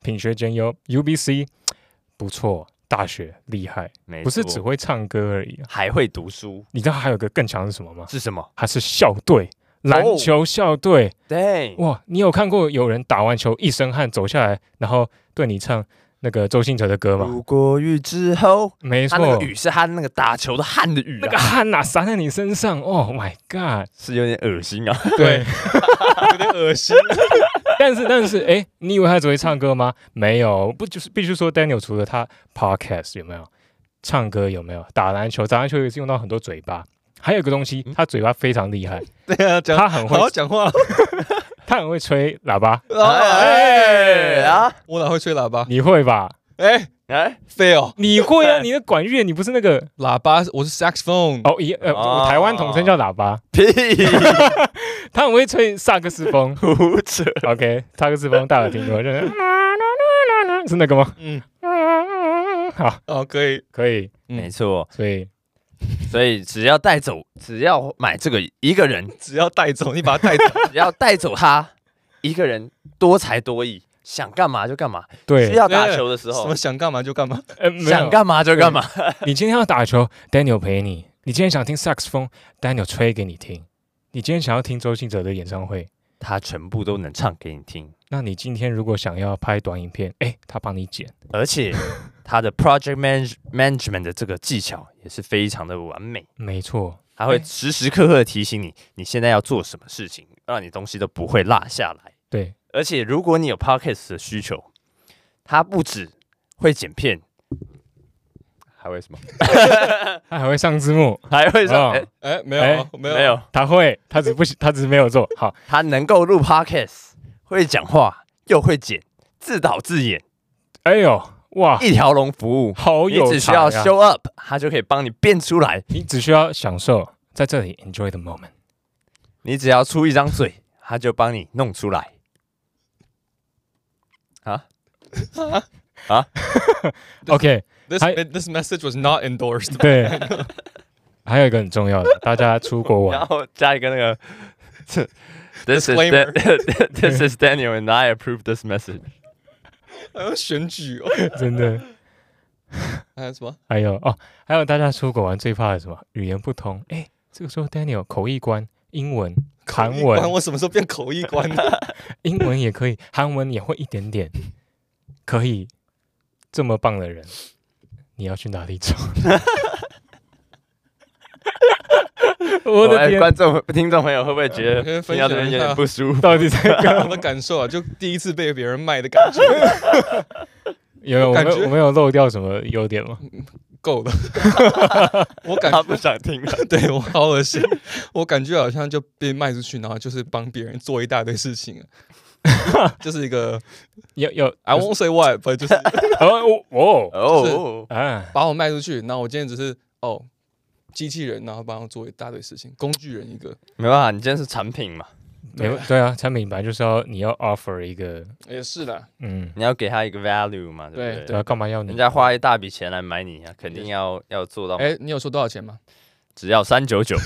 ，UBC。不錯，大學厲害，不是只會唱歌而已， 還會讀書。 你知道還有個更強是什麼嗎？ 是什麼？ 他是校隊，籃球校隊。 對， 哇，你有看過有人打完球一身汗走下來，然後對你唱那個周興哲的歌嗎？ 如果雨之後， 沒錯， 他那個雨是他那個打球的汗的雨， 那個汗哪灑在你身上？Oh my god， 是有點噁心啊。 對，有點噁心。 但是，你以為他只會唱歌嗎？沒有，不就是必須說 Daniel 除了他 podcast 有沒有唱歌有沒有打籃球也是用到很多嘴巴，還有一個東西，他嘴巴非常厲害。對啊，他很會好好講話， 他很會吹喇叭。 我哪會吹喇叭？ 你會吧？ fail， 你會啊？你的管樂，你不是那個喇叭，我是 saxophone。 台灣統稱叫喇叭。 屁！ 他很會吹薩克斯風。 胡扯。 OK， 薩克斯風大家有聽過？是那個嗎？好，可以， 沒錯。所以只要買這個一個人， 只要帶走，你把他帶走， 只要帶走他一個人，多才多藝。想幹嘛就幹嘛， 對， 需要打球的時候， 什麼想幹嘛就幹嘛， 想幹嘛就幹嘛。 你今天要打球 ，Daniel 陪你；你今天想聽薩克斯風 ，Daniel 吹給你聽；你今天想要聽周興哲的演唱會， 他全部都能唱給你聽。 那你今天如果想要拍短影片，他幫你剪， 而且他的 project management 的這個技巧也是非常的完美。 沒錯， 他會時時刻刻提醒你，你現在要做什麼事情，讓你東西都不會落下來。 對。 而且，如果你有 podcast 的需求，他不只會剪片，還會什麼？ 他還會上字幕， 還會上。 沒有， 他會，他只是沒有做好。 他能夠錄 podcast，會講話，又會剪，自導自演。 哎呦，哇！ 一條龍服務， 好有才啊！ 你只需要 show up， 他就可以幫你變出來。 你只需要享受在這裡 enjoy the moment。 你只要出一張嘴，他就幫你弄出來。 OK， this message was not endorsed。 對， 還有一個很重要的，大家出國玩， 然後加一個那個，This is Daniel and I approve this message。 還要選舉哦， 真的。 還有什麼？ 還有大家出國玩最怕的什麼？語言不通。哎，這個時候 Daniel 口譯官，英文、韓文， 我什麼時候變口譯官呢？ 英文也可以，韓文也會一點點，可以這麼棒的人，你要去哪裡找？我的天！ 聽眾朋友會不會覺得聽到這邊有點不舒服？ 到底在幹嘛的感受啊？就第一次被別人賣的感覺。 我沒有漏掉什麼優點嗎？ 夠了，我感覺他不想聽了。 對我好惡心，我感覺好像就被賣出去，然後就是幫別人做一大堆事情，就是一個I won't say what， 就是把我賣出去，然後我今天只是機器人，然後幫我做一大堆事情，工具人一個。 沒辦法，你今天是產品嘛。 對啊，產品本來就是你要 offer 一個， 也是的， 你要給他一個 value 嘛，對不對？ 對啊，幹嘛要你？ 人家花一大筆錢來買你啊，肯定要做到。 你有說多少錢嗎？ 只要399，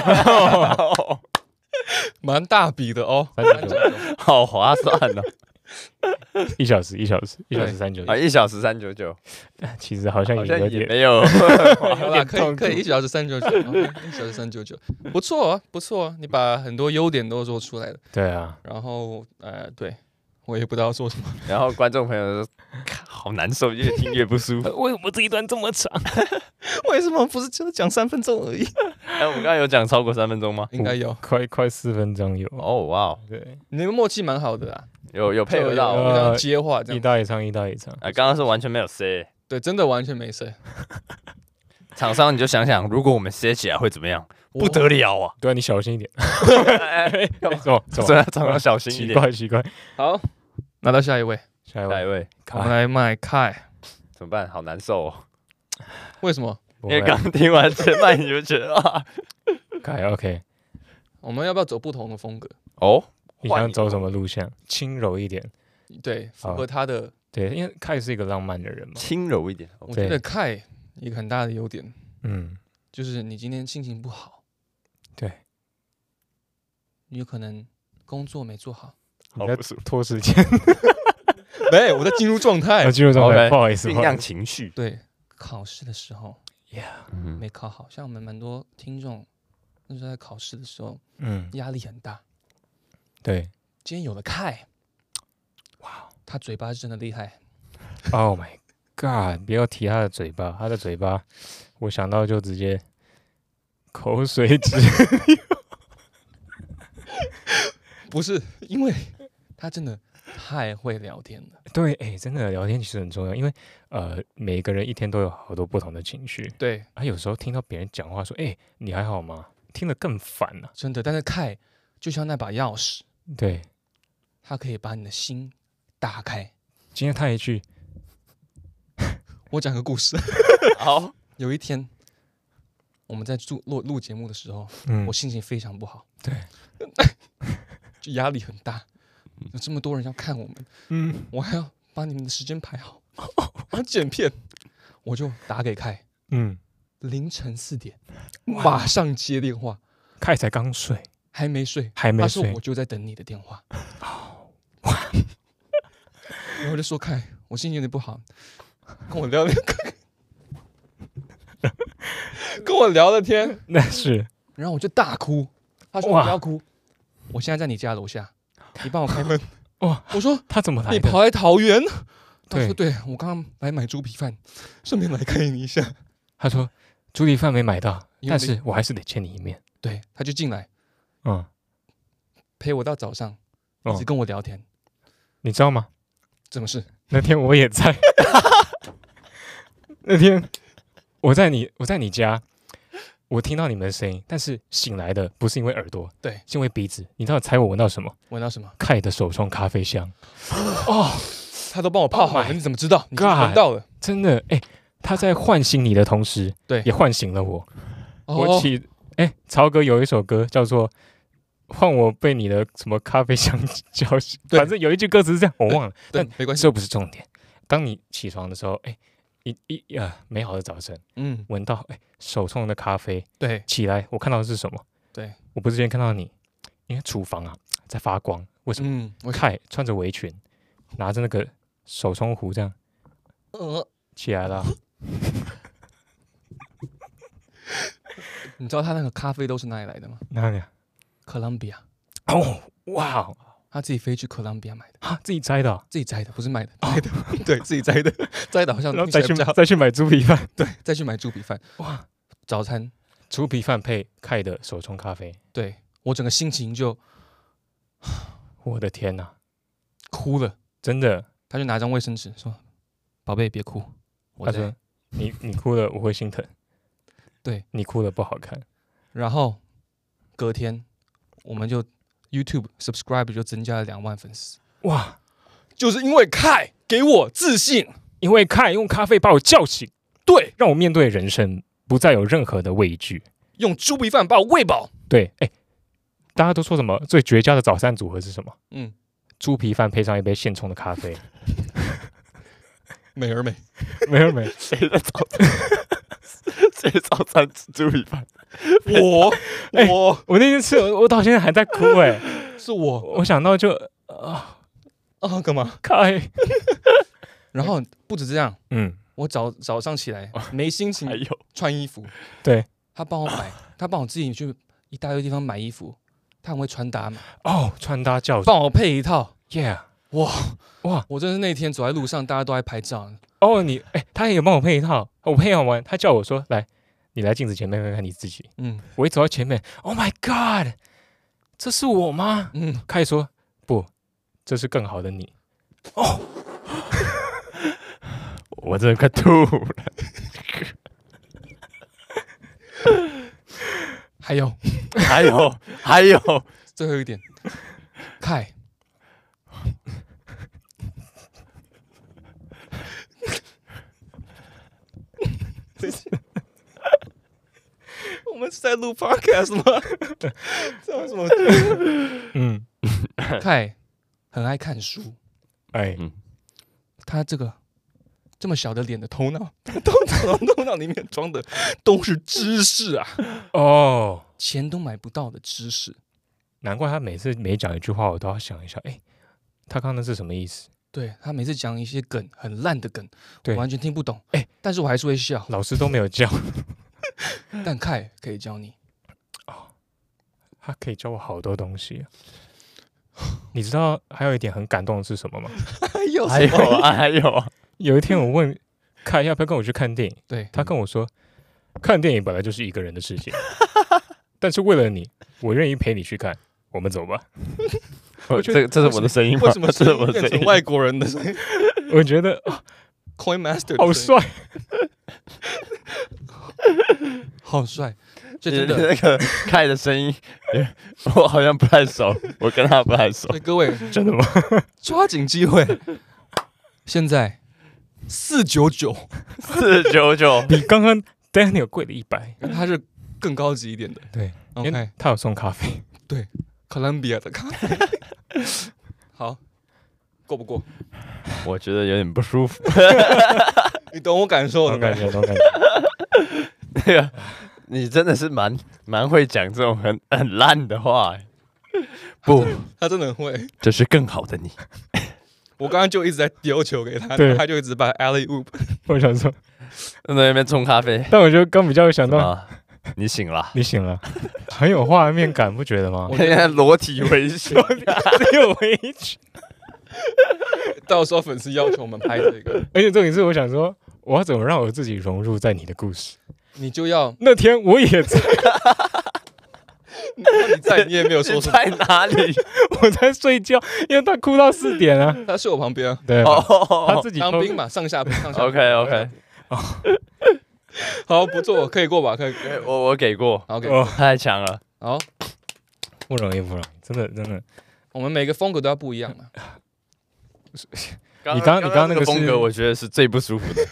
蠻大筆的哦 ，399， 好划算哦。 1小時399 啊，1小時399， 其實好像也沒有， 可以1小時399，1小時399，不錯啊，你把很多優點都說出來了。 對啊， 然後对我也不知道說什麼。 然後觀眾朋友說好難受，越聽越不舒服。 為什麼這一段這麼長？ 為什麼不是就講3分鐘而已？ 我們剛剛有講超過3分鐘嗎？ 應該有， 快4分鐘有。 哦哇， 對， 你們默契蠻好的啊。 有配合到接話這樣， 一搭一唱。 剛剛是完全沒有 say， 對，真的完全沒 say。 廠商你就想想，如果我們 say 起來會怎麼樣？不得了啊！ 對啊，你小心一點。 怎麼廠商小心一點？ 奇怪。 好，拿到下一位， 我們來賣凱。 怎麼辦？好難受哦。 為什麼？ 因為剛聽完前半你就覺得啊， 凱 OK。 我們要不要走不同的風格？ 你想走什麼路線？輕柔一點， 對，符合他的。 對，因為凱是一個浪漫的人嘛。 輕柔一點， 我覺得凱一個很大的優點，就是你今天心情不好， 對， 你有可能工作沒做好， 你在拖時間。 沒，我在進入狀態， 不好意思， 醞釀情緒。 對，考試的時候，沒考好，像我們蠻多聽眾那時候在考試的时候，壓力很大。 對， 今天有了凱，哇，他嘴巴是真的厲害。 Oh my god！ 不要提他的嘴巴，我想到就直接口水直流。不是，因為他真的太會聊天了。对，真的聊天其實很重要，因為每個人一天都有好多不同的情緒。對，有時候聽到別人講話說“你還好嗎”，聽得更煩了。真的，但是凱就像那把鑰匙。對，他可以把你的心打開。今天他一句，我講個故事。好，有一天我們在錄節目的時候，我心情非常不好。對，就壓力很大，有這麼多人要看我們，我還要把你們的時間排好，還要剪片，我就打給凱。凌晨4點，馬上接電話。凱才剛睡。還沒睡，他說我就在等你的電話。然後我就說凱，我心情有點不好，跟我聊了天，那是。然後我就大哭，他說你不要哭，我現在在你家樓下，你幫我開門。哇，我說他怎麼來的？你跑來桃園？他說對，我剛剛來買豬皮飯，順便來看你一下。他說豬皮飯沒買到，但是我還是得見你一面。對，他就進來。陪我到早上，一直跟我聊天，你知道嗎？怎麼事？那天我也在，那天我在你家，我聽到你們的聲音，但是醒來的不是因為耳朵，對，是因為鼻子。你知道猜我聞到什麼？聞到什麼？凱的手沖咖啡香。他都幫我泡好了，你怎麼知道？你聞到了，真的，他在喚醒你的同時，對，也喚醒了我。曹哥有一首歌叫做《換我被你的什麼咖啡香叫醒》，反正有一句歌詞是這樣，我忘了，但沒關係，這不是重點。當你起床的時候， 美好的早晨，聞到手沖的咖啡， 對， 起來我看到的是什麼？對，我不是今天看到你，因為廚房啊在發光，為什麼？Kai穿着圍裙，拿着那個手沖壺這樣，起來了。 你知道他那個咖啡豆是哪裡來的嗎？ 哪裡啊？ 哥倫比亞。 哦，哇！ 他自己飛去哥倫比亞買的啊，自己摘的， 自己摘的，不是賣的，摘的，对自己摘的，摘的好像然後再去買豬皮飯， 對，再去買豬皮飯。哇，早餐豬皮飯配Kai的手沖咖啡， 對我整個心情就， 我的天哪， 哭了， 真的。 他就拿張衛生紙說：“寶貝，別哭。” 他說：“你哭了，我會心疼。” 對， 你哭了不好看。 然後隔天我們就 YouTube subscribe 就增加了2萬粉絲。哇，就是因為Kai給我自信， 因為Kai用咖啡把我叫醒，對，讓我面對人生不再有任何的畏懼， 用豬皮飯把我餵飽。 對，大家都說什麼最絕佳的早餐組合是什麼？豬皮飯配上一杯現沖的咖啡。 美而美， 美而美， 誰在早餐？誰早餐吃豬皮飯？ 我那天吃，我到現在還在哭是我想到就幹嘛 Kai？ 然後不止這樣，我早上起來沒心情穿衣服， 對， 他幫我自己去一大堆地方買衣服，他很會穿搭嘛， 穿搭教， 幫我配一套 ，Yeah。 哇！我真的是那天走在路上，大家都在拍照。 他也有幫我配一套，我配好完，他叫我說：“來，你來鏡子前面看看你自己。”我一走到前面 ，Oh my God， 這是我嗎？Kai說：“不，這是更好的你。” 我真的快吐了。 還有，最後一點，Kai。我們是在錄 podcast 嗎？這有什麼？Kai 很愛看書，他這個這麼小的臉的頭腦，頭腦裡面裝的都是知識啊！錢都買不到的知識， 難怪他每次每講一句話，我都要想一下，他剛剛那是什麼意思？ 對，他每次講一些梗，很爛的梗，我完全聽不懂。但是我還是會笑。老師都沒有教，但Kai可以教你。 他可以教我好多東西。你知道還有一點很感動的是什麼嗎？ 還有。 有一天我問Kai要不要跟我去看電影， 對， 他跟我說，看電影本來就是一個人的事情，但是為了你，我願意陪你去看。我們走吧。 這是我的聲音嗎？ 為什麼這是我的聲音變成外國人的聲音？ 我覺得 Coin Master 好帥， 好帥。 就真的那個Kai的聲音，我好像不太熟，我跟他不太熟。 各位， 真的嗎？ 抓緊機會，現在499， 比剛剛 Daniel 貴了100， 他是更高級一點的。 對 ，OK， 他有送咖啡， 對。哥倫比亞的咖啡，好，過不過？ 我覺得有點不舒服。 你懂我感受的， 懂感覺。 那個，你真的是蠻會講這種很爛的話。不， 他真的很會。 這是更好的你。 我剛剛就一直在丟球給他，他就一直把 alley oop。 我想說， 在那邊沖咖啡。 但我覺得剛比較有想到。 你醒了， 很有畫面感，不覺得嗎？ 我現在裸體圍裙， 只有圍裙。 到時候粉絲要求我們拍這個， 而且重點是，我想說，我要怎麼讓我自己融入在你的故事？ 你就要那天我也在， 你在，你也沒有說在哪裡？ 我在睡覺，因為他哭到4點啊。 他睡我旁邊， 對，他自己當兵嘛，上下。 OK。 好，不錯，可以過吧？可以， 我給過。 OK， 太強了。 好， 不容易，真的。 我們每個風格都要不一樣嘛。 你剛剛那個風格，我覺得是最不舒服的。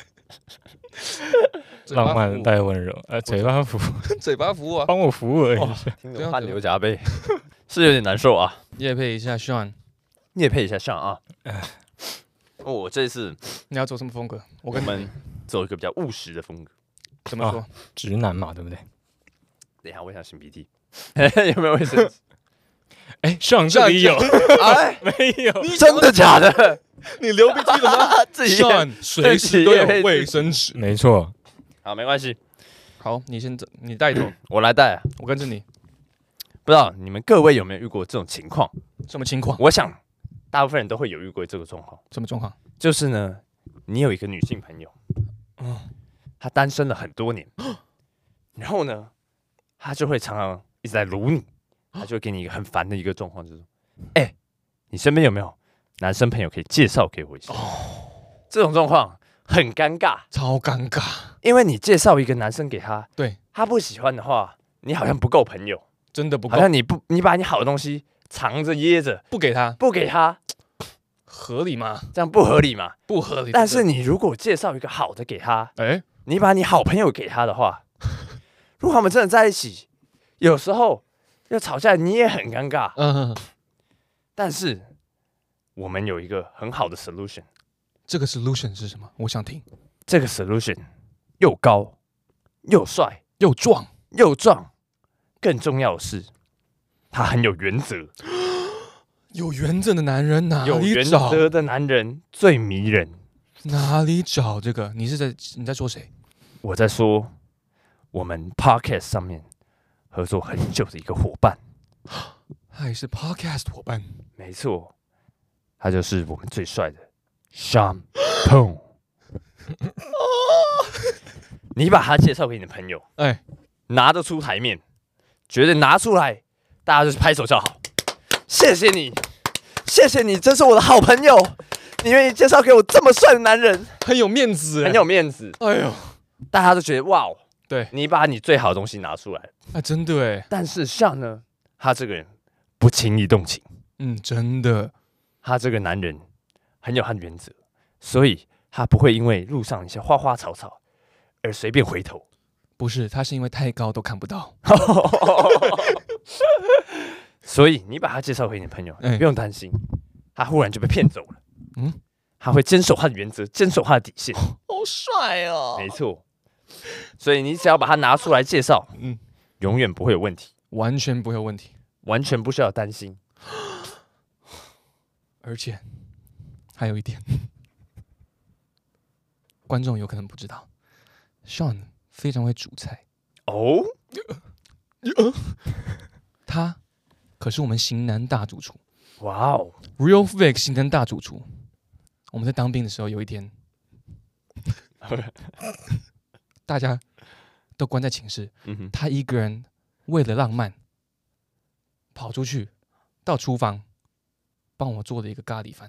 浪漫帶溫柔，嘴巴服務啊， 幫我服務而已。 聽得汗流浹背，是有點難受啊。 業配一下 Sean 業配一下 Sean 啊。 我這次你要走什麼風格？我們走一個比較務實的風格。 怎麼說？ 直男嘛，对不对？ 等一下，我想擤鼻涕，有沒有衛生紙？ 哎，上這裡有， 哎， 沒有， 真的假的？ 你流鼻涕了嗎？自己隨時都有衛生紙， 沒錯。 好，沒關係。 好，你先走，你帶頭， 我來帶， 我跟着你。 不知道你們各位有沒有遇過這種情況？ 什麼情況？ 我想大部分人都會有遇過這個狀況。 什麼狀況？ 就是呢，你有一個女性朋友，她單身了很多年，然後呢，她就會常常一直在盧你，她就會給你一個很煩的一個狀況，就是說，哎，你身邊有沒有男生朋友可以介紹給我一下？這種狀況很尷尬， 超尷尬， 因為你介紹一個男生給他， 對， 他不喜歡的話，你好像不夠朋友， 真的不夠， 好像你把你好的東西藏着掖着， 不給他， 合理嗎？这樣不合理嘛？不合理。 但是你如果介紹一個好的給他，你把你好朋友給他的話，如果他們真的在一起，有時候要吵架，你也很尷尬。但是我們有一個很好的 solution。 這個 solution 是什麼？我想聽。 這個 solution 又高又帥又壯， 更重要的是，他很有原則。 有原則的男人哪裡找？ 有原則的男人最迷人。 哪裡找這個？你在說誰？ 我在說我們 podcast 上面合作很久的一個夥伴。 他也是 podcast 夥伴。 沒錯，他就是我們最帥的 Sean Pong。你把他介紹給你的朋友，拿得出台面，覺得拿出來，大家就是拍手叫好。謝謝你，謝謝你，真是我的好朋友。你願意介紹給我這麼帥的男人， 很有面子， 很有面子。哎呦，大家都覺得哇哦， 對， 你把你最好的東西拿出來， 真的哎。 但是像呢，他這個人不輕易動情， 真的， 他這個男人很有他的原則，所以他不會因為路上一些花花草草而隨便回頭。 不是，他是因為太高都看不到。 所以你把他介紹給你的朋友，不用擔心，他忽然就被騙走了。他會堅守他的原則，堅守他的底線。 好帥哦！ 沒錯，所以你只要把他拿出來介紹，永遠不會有問題， 完全不會有問題， 完全不需要擔心。 而且還有一點，觀眾有可能不知道 ，Sean 非常會煮菜哦。 他可是我們型男大主廚。 哇哦 ，Real Fake 型男大主廚。我们在當兵的時候，有一天，大家都關在寢室，他一個人為了浪漫，跑出去到廚房幫我做了一個咖喱飯。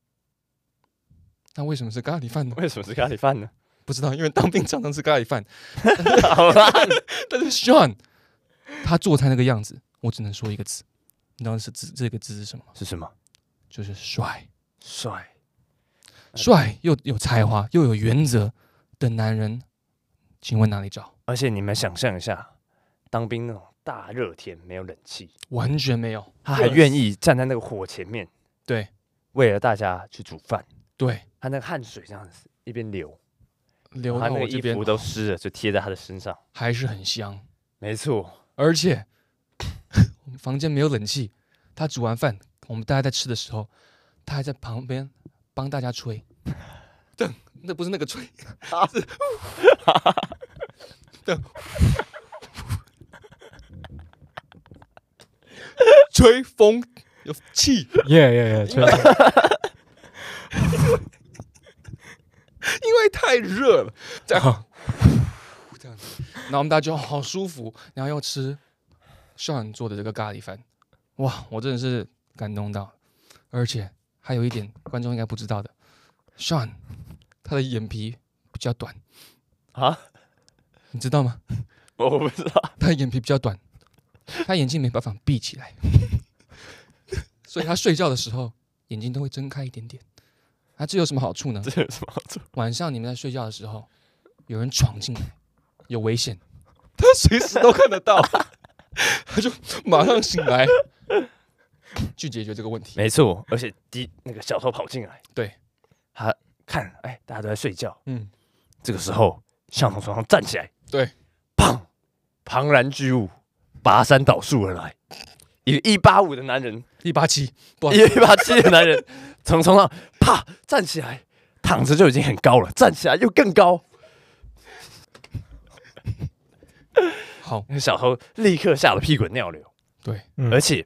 那為什麼是咖喱飯呢？ 為什麼是咖喱飯呢？ 不知道，因為當兵常常吃咖喱飯。好啦，但是 Sean 他做菜那個樣子，我只能說一個字，你知道這個字是什麼？ 是什麼？ 就是帥。 帥又有才華又有原則的男人，請問哪裡找？ 而且你們想象一下，當兵那種大熱天沒有冷氣， 完全沒有， 他還願意站在那個火前面， 對， 為了大家去煮飯， 對， 他那個汗水這樣子一邊流到我這邊， 他那個衣服都濕了，就貼在他的身上， 還是很香。 沒錯， 而且我們房間沒有冷氣，他煮完飯，我們大家在吃的時候，他還在旁邊幫大家吹，那不是那個吹，是吹風有氣， 吹。 因為太熱了，這樣子，然後我們大家就好舒服，然後又吃Sean做的這個咖喱飯，哇，我真的是感動到。而且還有一點觀眾應該不知道的，Sean 他的眼皮比較短啊， 你知道嗎？ 我不知道， 他的眼皮比較短，他眼睛沒辦法閉起來，所以他睡覺的時候眼睛都會睜開一點點。這有什麼好處呢？ 這有什麼好處？ 晚上你們在睡覺的時候，有人闖進來，有危險，他隨時都看得到，他就馬上醒來，去解決這個問題。 沒錯，而且那個小偷跑進來， 對， 他看，大家都在睡覺，這個時候向從床上站起來， 對， 砰，龐然巨物跋山倒樹而來，一個185的男人 ，187， 一個187的男人從床上啪站起來，躺着就已經很高了，站起來又更高。 好， 小偷立刻嚇得屁滾尿流。 對， 而且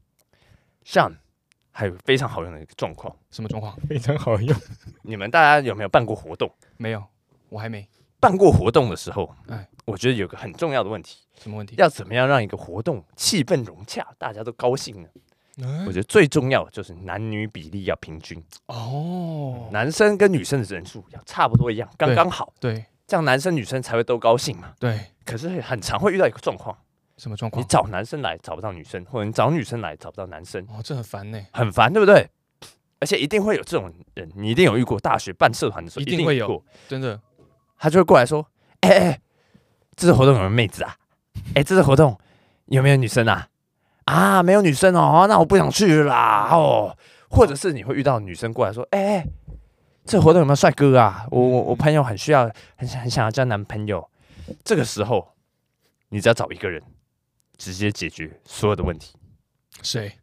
Sean 還有非常好用的一個狀況。 什麼狀況？ 非常好用。 你們大家有沒有辦過活動？ 沒有，我還沒辦過活動的時候，我覺得有個很重要的問題。 什麼問題？ 要怎麼樣讓一個活動氣氛融洽，大家都高興呢？我覺得最重要的就是男女比例要平均哦，男生跟女生的人數要差不多一樣，剛剛好。 對， 這樣男生女生才会都高興嘛。 對。 可是很常會遇到一個狀況。 什麼狀況？ 你找男生來找不到女生，或者你找女生來找不到男生。 哦，這很煩呢。很煩，对不對？而且一定會有這種人，你一定有遇過。大學辦社團的時候， 一定會有，真的。 他就會過來說：“這次活動有沒有妹子啊？這次活動有沒有女生啊？啊，沒有女生哦，那我不想去啦哦。”或者是你會遇到女生過來說：“這活動有沒有帥哥啊？我朋友很需要，很想要交男朋友。”這個時候，你只要找一個人，直接解決所有的問題。 誰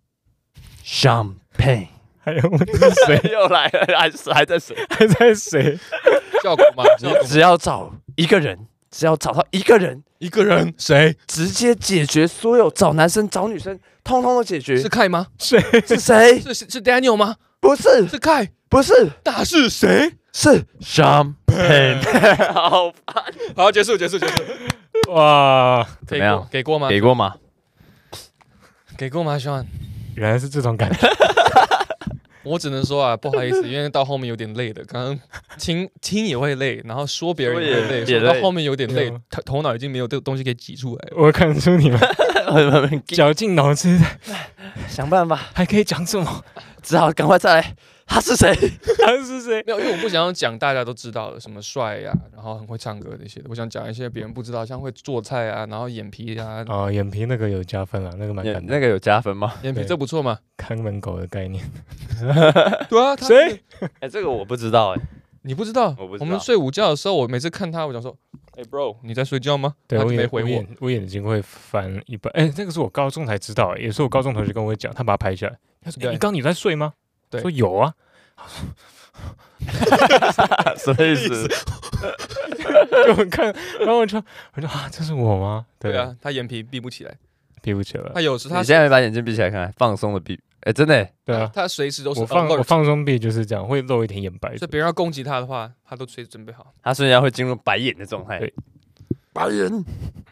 ？Champagne。 還有問題是誰？ 又來了，還在誰？ 還在誰？ 效果嗎？ 只要找一個人，只要找到一個人， 誰？ 直接解決所有找男生找女生，通通都解決。 是凱嗎？ 誰？是誰？ 是 Daniel 嗎？ 不是， 是凱。 不是， 那是誰？ 是 Champagne。好煩。 好，結束。 哇， 怎麼樣？ 給過嗎？ 給過嗎？ 給過嗎 ，Sean？ 原來是這種感覺。 我只能說啊，不好意思，因為到後面有點累的。剛剛聽也會累，然後說別人也會累，說到後面有點累，頭腦已經沒有這個東西可以擠出來。 我看出你們絞盡腦汁想辦法， 還可以講什麼？ 只好趕快再來。他是誰？ 沒有，因為我不想要講大家都知道的，什麼帥呀，然後很會唱歌那些的。我想講一些別人不知道，像會做菜啊，然後眼皮啊。 哦，眼皮那個有加分啊，那個蠻感。 那個有加分嗎？ 眼皮這不錯嗎？ 看門狗的概念。 對啊， 誰？ 這個我不知道你不知道？我們睡午覺的時候，我每次看他，我想說，bro， 你在睡覺嗎？ 對， 他就沒回我。 我眼睛會翻一半。那個是我高中才知道，也是我高中同學跟我講，他把它拍下來。他說：“你剛你在睡嗎？” 對， 說有啊。 什麼意思？ 就我看，然後我說啊，這是我嗎？ 對啊，他眼皮閉不起來， 他有時他你現在沒把眼睛閉起來看，放鬆的閉。真的。 對啊， 他隨時都是我放鬆閉就是這樣，會露一點眼白。 所以別人要攻擊他的話，他都隨時準備好。 他瞬間會進入白眼的狀態。對，白眼。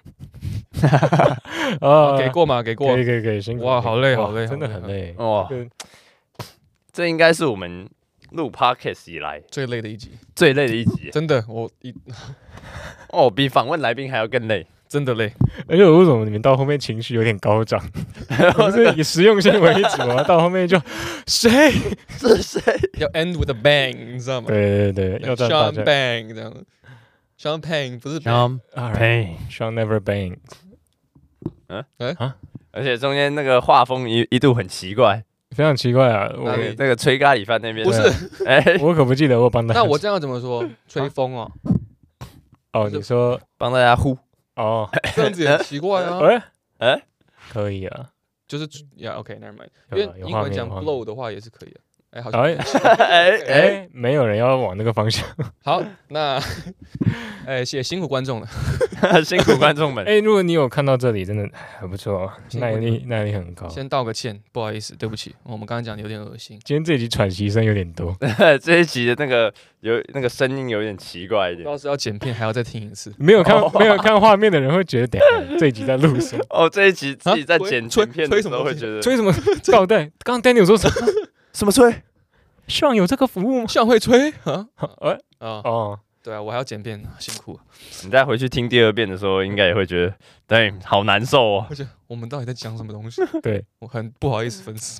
給過嗎？給過。 可以，辛苦。 哇，好累， 真的很累。 哇，這應該是我們錄 podcast 以來最累的一集， 真的，比訪問來賓還要更累， 真的累。 而且為什麼你們到後面情緒有點高漲？不是以實用性為主嗎？到後面就誰是誰？ 要 end with a bang， 你知道嗎？ 對，要這樣 bang 這樣。Champagne 不是 Champagne，Sean never bang。 而且中間那個畫風一度很奇怪。 非常奇怪啊！ 那個吹咖喱飯那邊不是， 我可不記得我幫他。 那我這樣怎麼說？吹風哦。 哦，你說幫大家呼哦， 這樣子也很奇怪啊。 可以啊， 就是OK，never mind。因為英文講 blow 的話也是可以的。好像沒有人要往那個方向。 好，那謝謝辛苦觀眾了， 辛苦觀眾們。 如果你有看到這裡，真的很不錯，耐力很高。 先道個歉，不好意思，對不起，我們剛剛講的有點惡心。 今天這一集喘息聲有點多， 這一集的那個聲音有點奇怪一點。 要是要剪片，還要再聽一次。 沒有看畫面的人會覺得，等下這一集在錄什麼？ 這一集自己在剪片的時候會覺得吹什麼倒帶？剛剛 Daniel 說什麼？ 什麼吹 ？Sean 有這個服務嗎 ？Sean會吹對啊，我還要剪片，辛苦。 你再回去聽第二遍的時候，應該也會覺得，對，好難受哦。 而且我們到底在講什麼東西？ 對， 我很不好意思，粉絲。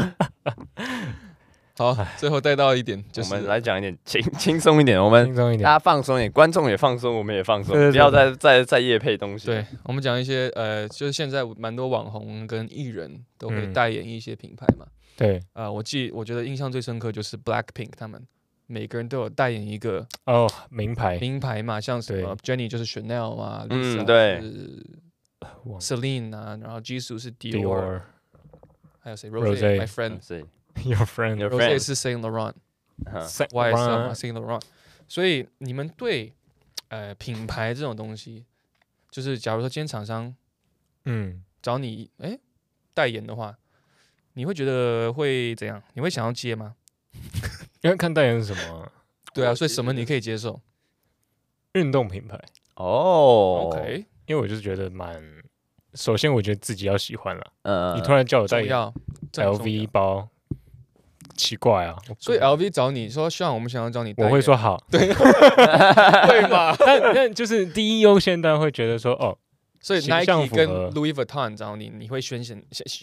好，最後帶到一點，就是我們來講一點輕鬆一點，我們大家放鬆一點，觀眾也放鬆，我們也放鬆，不要再業配東西。 對，我們講一些就是現在蠻多網紅跟藝人都會代言一些品牌嘛。 對， 我覺得印象最深刻就是 Blackpink 他們每個人都有代言一個名牌嘛，像什麼 Jennie 就是 Chanel 嘛，Lisa 對是 Celine 啊，然後 Jisoo 是 Dior， 還有誰 Rose My Friend，Your Friend Rose 是 Saint Laurent，YSL 嘛 Saint Laurent， 所以你們對品牌這種東西，就是假如說今天廠商找你代言的話，你會覺得會怎樣？你會想要接嗎？ 因為看代言是什麼對啊，所以什麼你可以接受？ 運動品牌 OK， 因為我就是覺得首先我覺得自己要喜歡了。你突然叫我代言 LV 包，奇怪啊！ 所以 LV 找你說希望我們想要找你代言， 我會說好， 对，对嘛？ 但就是第一優先当然會覺得說所以 Nike 跟 Louis Vuitton 找你，你會先選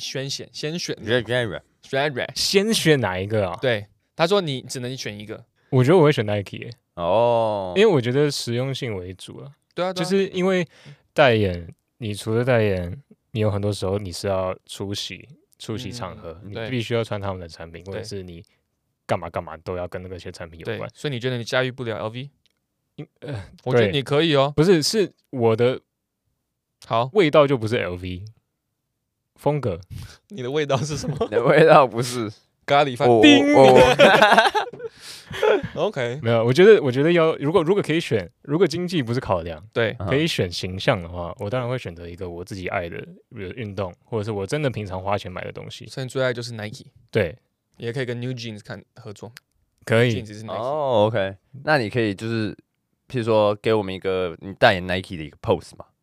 哪一個啊？ 對，他說你只能選一個。 我覺得我會選 Nike 因為我覺得實用性為主啊。 對啊， 就是因為代言，你除了代言，你有很多時候你是要出席場合，你必須要穿他們的產品，或者是你幹嘛都要跟那些產品有關。 所以你覺得你駕馭不了 LV？我覺得你可以哦。 不是，是我的味道就不是 LV 風格。 你的味道是什麼？ 你的味道不是咖喱飯。OK， 沒有，我覺得要如果可以選，如果經濟不是考量， 對， 可以選形象的話，我当然會選擇一個我自己愛的運動，或者是我真的平常花錢買的東西。 所以你最愛就是 Nike， 對， 也可以跟 New Jeans 合作， 可以。 OK， 那你可以就是，譬如說給我們一個你代言 Nike 的一個 pose 嘛。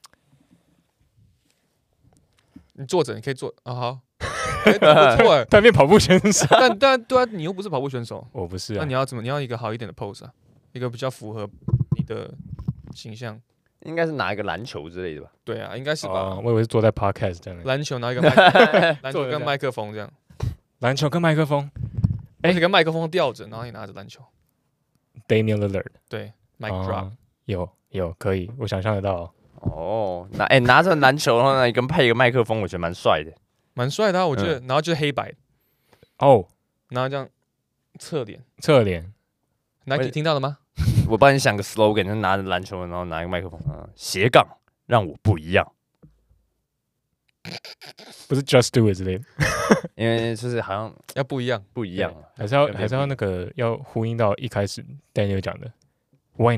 你坐着，你可以坐啊，好。不錯他變跑步選手， 但对啊，你又不是跑步選手， 我不是啊。 那你要怎麼？你要一個好一點的 pose 啊，一個比較符合你的形象。 應該是拿一個籃球之類的吧？ 對啊，應該是吧。 我以為是坐在 podcast 這樣。 籃球拿一個籃球跟麥克風這樣。 籃球跟麥克風， 你跟麥克風吊着，然後你拿着籃球。 Damian Lillard， 對 ，mic drop， 有可以，我想象得到。 拿着籃球，然後你跟配一個麥克風，我覺得蠻帥的。 蠻帥的，我覺得，然後就是黑白，然後這樣側臉 ，Nike 聽到了嗎？ 我幫你想個 slogan， 就拿着籃球，然後拿一個麥克風，斜槓讓我不一樣， 不是 Just Do It 之類的， 因為就是好像要不一樣， 還是要那個要呼應到一開始 Daniel 講的 Why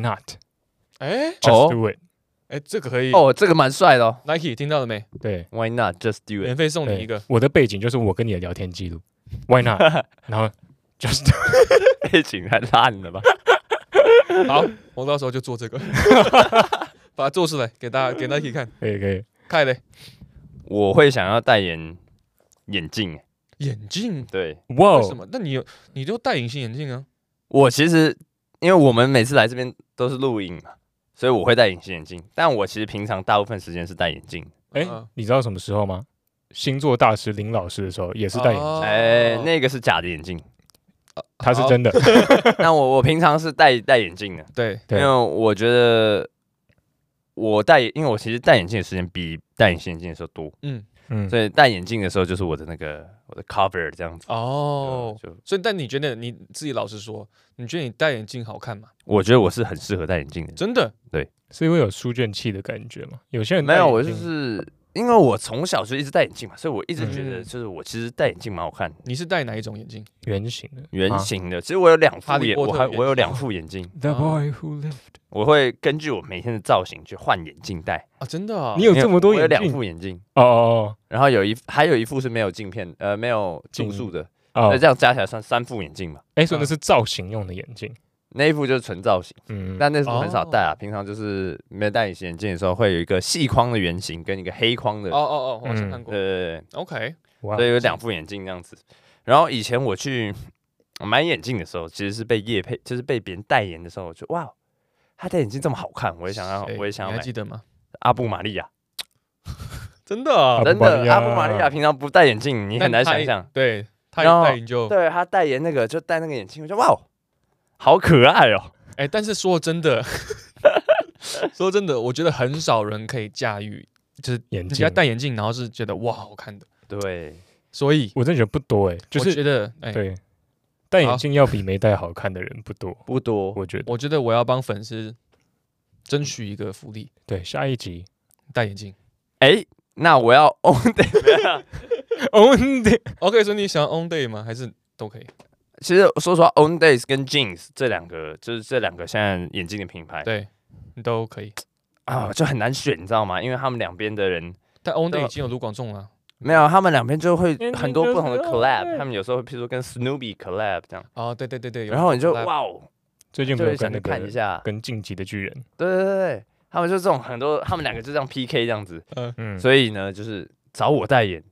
not？Just Do It。 這個可以這個蠻帥的哦。 Nike 聽到了沒？ 對 ，Why not just do it？ 免費送你一個。 我的背景就是我跟你的聊天記錄 ，Why not？ 然後 just do it 背景太爛了吧？ 好，我到時候就做這個，把它做出來給大家給 Nike 看。 可以。 看嘞， 我會想要代言眼鏡。 眼鏡？ 對。 哇，為什麼？那你就戴隱形眼鏡啊？ 我其實因為我們每次來這邊都是錄影嘛。所以我會戴隱形眼鏡，但我其實平常大部分時間是戴眼鏡。 你知道什麼時候嗎？星座大師林老師的時候也是戴眼鏡。 那個是假的眼鏡， 他是真的。 但我平常是戴眼鏡的。 對， 因為我覺得因为我其實戴眼鏡的時間比戴隱形眼鏡的時候多。所以戴眼鏡的時候就是我的 cover 這樣子。 所以但你覺得你自己老實說，你覺得你戴眼鏡好看嗎？ 我覺得我是很適合戴眼鏡的。 真的？ 對， 是因為有書卷氣的感覺嗎？有些人沒有，我就是因為我從小就一直戴眼鏡嘛，所以我一直覺得就是我其實戴眼鏡蠻好看的。 你是戴哪一種眼鏡？ 圓形的。 其實我有兩副眼，我有2副眼鏡。 The boy who lived。 我會根據我每天的造型去換眼鏡戴啊，真的啊？ 你有這麼多眼鏡？ 我有2副眼鏡然後還有一副是沒有鏡片，沒有度數的，所以這樣加起來算3副眼鏡嘛。 所以那是造型用的眼鏡， 那一副就是純造型，但那副很少戴啊。平常就是沒有戴隱形眼鏡的時候，會有一個細框的圓形跟一個黑框的。 我好像看過。 對 ，OK， 所以有2副眼鏡這樣子。然後以前我去買眼鏡的時候，其實是被業配，就是被別人代言的時候，我就哇。他戴眼鏡這麼好看，我也想要買。 你還記得嗎？ 阿布瑪利亞， 真的啊， 真的，阿布瑪利亞平常不戴眼鏡，你很難想象。 對，他戴眼就对他代言那個就戴那個眼鏡，我就哇，好可愛哦。 但是說真的，我覺得很少人可以駕馭，就是人家戴眼鏡，然後是覺得哇好看的。 對， 所以我真的覺得不多就是我覺得對。 戴眼鏡要比沒戴好看的人不多， 不多。 我覺得我要幫粉絲爭取一個福利。對， 下一集戴眼鏡。 那我要 on day，on day。OK， 所以你想要 on day 嗎？還是都可以？ 其實說實話 ，on days 跟 jeans 這兩個，就是這兩個現在眼鏡的品牌， 對，你都可以就很難選，你知道嗎？因為他們兩邊的人， 但 on day 已經有盧廣仲了。 沒有，他們兩邊就會很多不同的 collab， 他們有時候會譬如說跟 Snoopy collab 這樣。 哦，對， 然後你就哇哦， 最近有沒有跟那個看一下跟進擊的巨人？ 對，他們就這種很多，他們兩個就這樣 PK 這樣子。所以呢，就是找我代言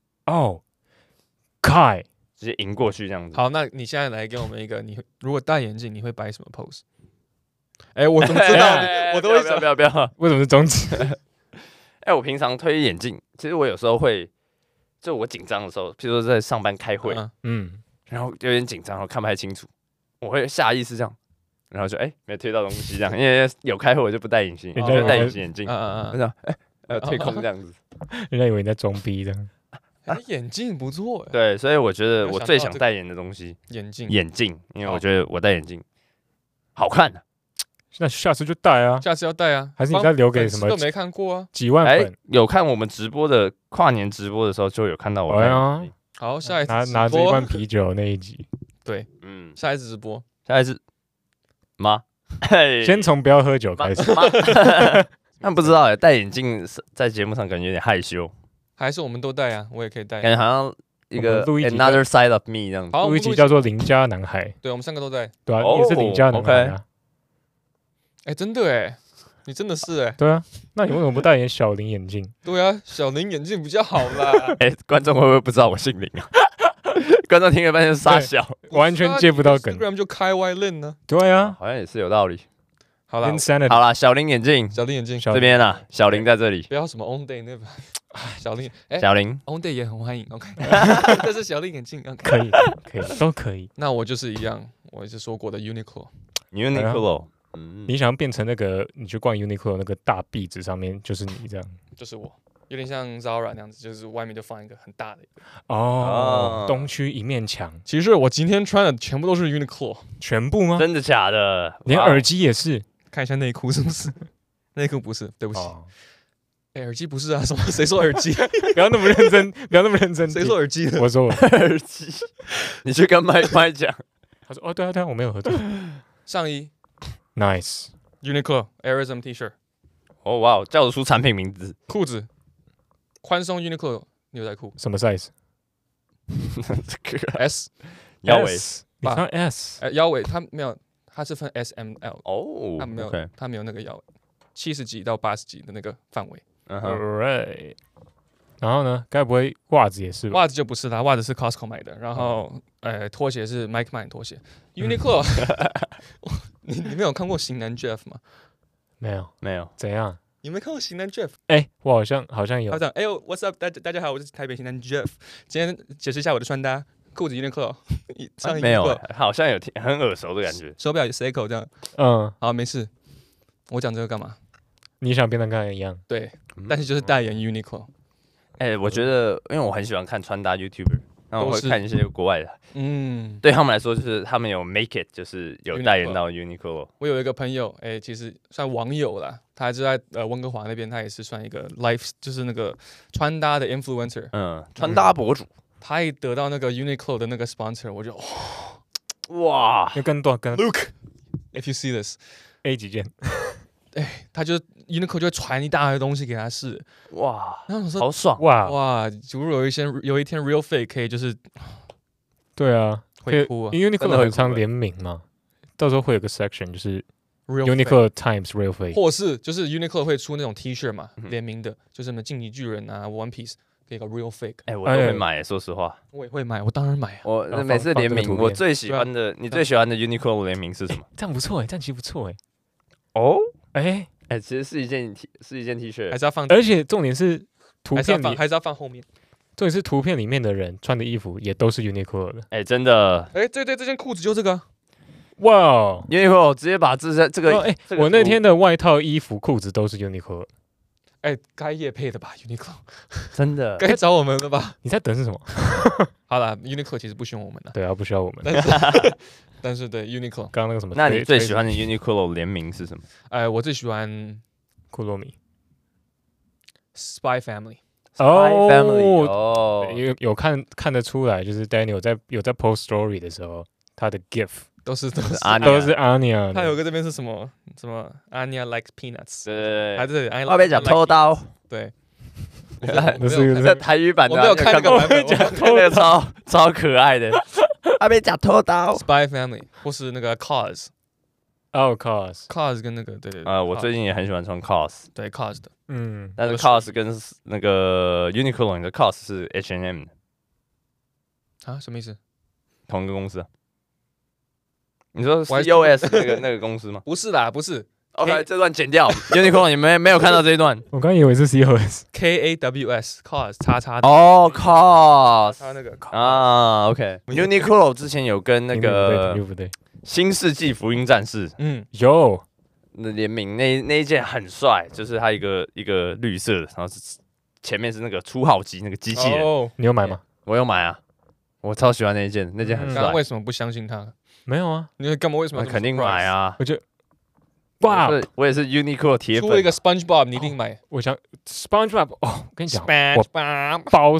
Kai 直接贏過去這樣子。 好，那你現在來給我們一個，你如果戴眼鏡，你會擺什麼 pose？ 我怎麼知道？我都会想， 不要， 為什麼是中指？ 我平常推眼鏡，其實我有時候會，就我緊張的時候，譬如說在上班開會，然後有點緊張，然後看不太清楚，我會下意識這樣，然後就沒推到東西這樣，因為有開會我就不戴隱形，我就戴隱形眼鏡，這樣推空這樣子， 人家以為你在裝逼這樣。 眼鏡不錯， 對，所以我覺得我最想代言的東西，眼鏡，因為我覺得我戴眼鏡好看。 那下次就戴啊， 下次要戴啊， 還是你再留給什麼？ 都沒看過啊， 幾萬粉有看我们直播的跨年直播的時候就有看到我戴眼鏡。 好，下一次拿着一罐啤酒那一集， 對，下一次直播， 下一次嗎？ 先從不要喝酒開始。 但不知道戴眼鏡在節目上感覺有點害羞。 還是我們都戴啊，我也可以戴。 感覺好像一個 Another Side of Me 這樣子。 錄一集叫做鄰家男孩。 對，我們三個都戴。 對啊，也是鄰家男孩啊。 真的你真的是對啊，那你為什麼不戴小林眼鏡？ 對啊，小林眼鏡比較好啦。 觀眾會不會不知道我姓林啊？觀眾聽了半天傻笑， 完全接不到梗。 Instagram 就開 Y Lin 呢？ 對啊， 好像也是有道理。 好啦， 小林眼鏡， 小林眼鏡這邊啊，小林在這裡。 不要什麼 On Day 那個，小林On Day 也很歡迎 ，OK。但是小林眼鏡可以，都可以。 那我就是一樣，我一直說過的 Uniqlo。 你想要變成那個，你去逛 Uniqlo 那個大壁紙上面就是你這樣， 就是我，有點像 Zara 那樣子，就是外面就放一個很大的一個。 東區一面牆。 其實我今天穿的全部都是 Uniqlo， 全部嗎？ 真的假的？ 連耳機也是？ 看一下內褲是不是？內褲不是，對不起。耳機不是啊？什麼？誰說耳機？ 不要那麼認真，不要那麼認真。 誰說耳機的？ 我說耳機。你去跟麥講。 他說：“對啊，我沒有合作。” 上衣。 Nice Uniqlo Airism T 恤， 哇，叫得出產品名字。 褲子，寬鬆 Uniqlo 牛仔褲， 什麼 size？ S 腰圍， 你穿 S？ 腰圍它沒有，它是分 S、M、L。 它沒有，它沒有那個腰圍，70幾到80幾的那個範圍。 Alright。然後呢？該不會襪子也是吧？ 襪子就不是啦，襪子是 Costco 買的。然後，拖鞋是 Mike Mine 拖鞋。Uniqlo， 你沒有看過型男 Jeff 嗎？ 沒有。怎樣？ 你沒看過型男 Jeff？ 我好像有。 他講，What's up？ 大家好，我是台北型男 Jeff。今天解釋一下我的穿搭：褲子 Uniqlo， 上衣 Uniqlo。沒有， 好像有很耳熟的感覺。 手錶 Seiko 這樣。好，沒事。我講這個幹嘛？ 你想變得跟他一樣？ 對，但是就是代言 Uniqlo。 我覺得，因為我很喜歡看穿搭 YouTuber， 然後我會看一些國外的。對他們來說，就是他們有 make it， 就是有代言到 Uniqlo。 我有一個朋友，其實算網友啦，他就在溫哥華那邊，他也是算一個 life， 就是那個穿搭的 influencer， 穿搭博主。 他一得到那個 Uniqlo 的那個 sponsor， 我就哇， 要跟 Luke，if you see this，A 幾件。 他就 Uniqlo 就會傳一大堆東西給他試， 哇， 然後我說好爽， 哇，如果有一天 Real Fake 可以就是， 對啊， 會哭啊， 因為 Uniqlo 很常聯名嘛，到時候會有個 section 就是 Uniqlo times Real Fake， 或是就是 Uniqlo 會出那種 T 恤嘛，聯名的，就是什麼進擊巨人啊 One Piece 可以搞 Real Fake， 我都會買，說實話， 我也會買，我當然買啊， 我每次聯名，我最喜歡的，你最喜歡的 Uniqlo 聯名是什麼？ 這樣不錯這樣其實不錯其實是一件 T 恤， 還是要放， 而且重點是圖片裡還是要放後面。 重點是圖片裡面的人穿的衣服也都是 Uniqlo 的。 真的。 對，這件褲子就這個。 哇 ，Uniqlo 直接把這個， 我那天的外套、衣服、褲子都是 Uniqlo。 該業配的吧 ，Uniqlo。 真的。 該找我們了吧？ 你在等是什麼？ 好了 ，Uniqlo 其實不需要我們的。 對啊，不需要我們。 但是對 Uniqlo， 剛剛那個什麼？ 那你最喜歡的 Uniqlo 聯名是什麼？ 我最喜歡庫洛米 Spy Family。Spy Family 哦， 有看得出來，就是 Daniel 有在 post story 的時候，他的 GIF 都是 Anya。 他有個這邊是什麼 Anya likes peanuts， 對， 還是我被講偷刀， 對， 這台語版的， 我沒有看那個版本， 那個超可愛的，我被講偷刀。 Spy Family 或是那個 Cause， COS 跟那個對， 我最近也很喜歡穿 COS， 對 Cause 的， 但是 COS 跟那個 Uniqlo 的 COS 是 H&M 的啊，什麼意思？ 同一個公司啊？你說 COS 那個公司嗎？ 不是啦，不是。 OK， 這段剪掉。Uniqlo 你們沒有看到這一段？ 我剛以為是 COS KAWS COS 叉叉。 哦 COS 他那個啊 OK。Uniqlo 之前有跟那個不對， 新世紀福音戰士有那聯名那一件很帥，就是它一個綠色的，然後前面是那個初號機那個機器人。 你有買嗎？ 我有買啊，我超喜歡那一件，那件很帥。 刚剛為什麼不相信他？ 沒有啊， 你幹嘛？為什麼？ 肯定買啊！ 我覺得，哇， 我也是 Uniqlo 鐵粉。 出了一個 SpongeBob， 你一定買。 我想 SpongeBob， 我跟你講， SpongeBob 包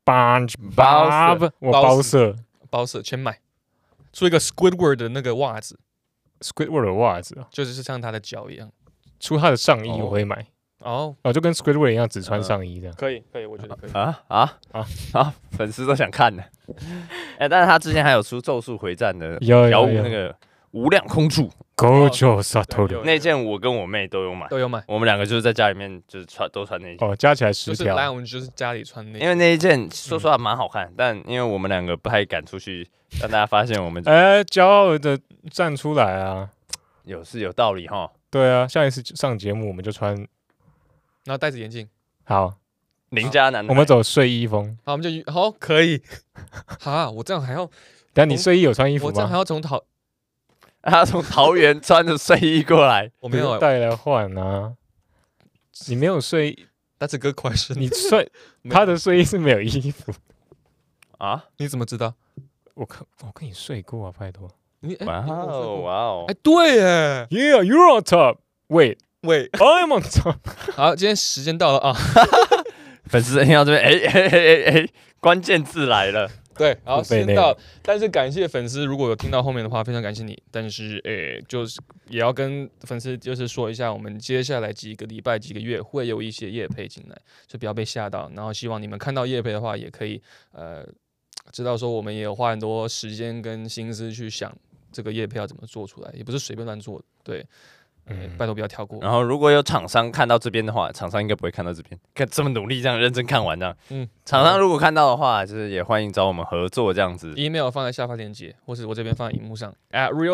SpongeBob， 我包色全買。出一個 Squidward 的那個襪子 ，Squidward 的襪子， 就是像他的腳一樣。 出他的上衣我會買。就跟 Squidward 一樣，只穿上衣這樣。 可以，我覺得可以。 粉絲都想看的。但是他之前還有出《咒術回戰》的妖物那個無量空處 Gojo Satoru 那件，我跟我妹都有買。我們兩個就是在家裡面就是都穿那件。 加起來10條。 来，我們就是家裡穿那件。 因為那一件說實話蠻好看，但因為我們兩個不太敢出去讓大家發現我們。 驕傲的站出來啊！ 有道理哈。 對啊，下一次上節目我們就穿。 然後戴着眼鏡， 好， 鄰家男， 我們走睡衣風， 好，我們就好，可以，哈，我這樣還要， 但你睡衣有穿衣服嗎？ 我這樣還要從桃園穿着睡衣過來， 我沒有帶來換啊，你沒有睡衣 ，That's a good question， 你他的睡衣是沒有衣服啊？ 你怎麼知道？ 我跟你睡過啊，拜託， 哇哦， 對耶 ，Yeah, you're on top, wait。I'm on top。 好，今天時間到了啊！ 粉絲聽到這邊，關鍵字來了。 對，好，時間到了。但是感謝粉絲，如果有聽到後面的話，非常感謝你。但是，就是也要跟粉絲就是說一下，我們接下來幾個禮拜、幾個月會有一些業配進來，所以不要被嚇到。然後，希望你們看到業配的話，也可以知道說我們也有花很多時間跟心思去想這個業配要怎麼做出來，也不是隨便亂做的。對。拜託不要跳過。 然後如果有廠商看到這邊的話，廠商應該不會看到這邊，看這麼努力這樣認真看完這樣。廠商如果看到的話，就是也歡迎找我們合作這樣子。 email 放在下方鏈接，或是我這邊放在熒幕上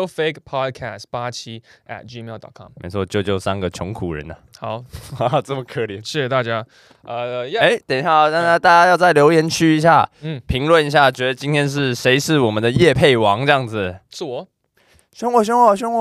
@realfakepodcast87@gmail.com。沒錯，救3個窮苦人吶。 好， 這麼可憐， 謝謝大家。 等一下，讓大家要在留言區一下，評論一下，覺得今天是誰是我們的業配王這樣子。 是我。 凶我！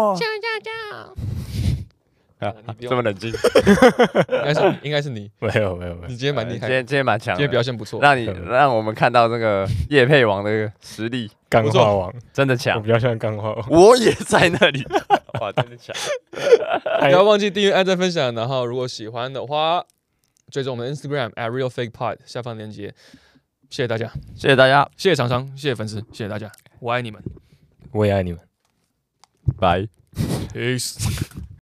這麼冷靜， 應該是你。 沒有， 你今天蠻厲害， 今天蠻強， 今天表現不錯， 讓我們看到那個業配王的實力， 鋼化王真的強， 我比較像鋼化王， 我也在那裡，哇，真的強！ 不要忘記訂閱、按讚、分享，然後如果喜歡的話，追蹤我們的 Instagram @realfakepod 下方鏈接。謝謝大家，謝謝廠商，謝謝粉絲，謝謝大家，我愛你們， 我也愛你們， 拜。 Peace。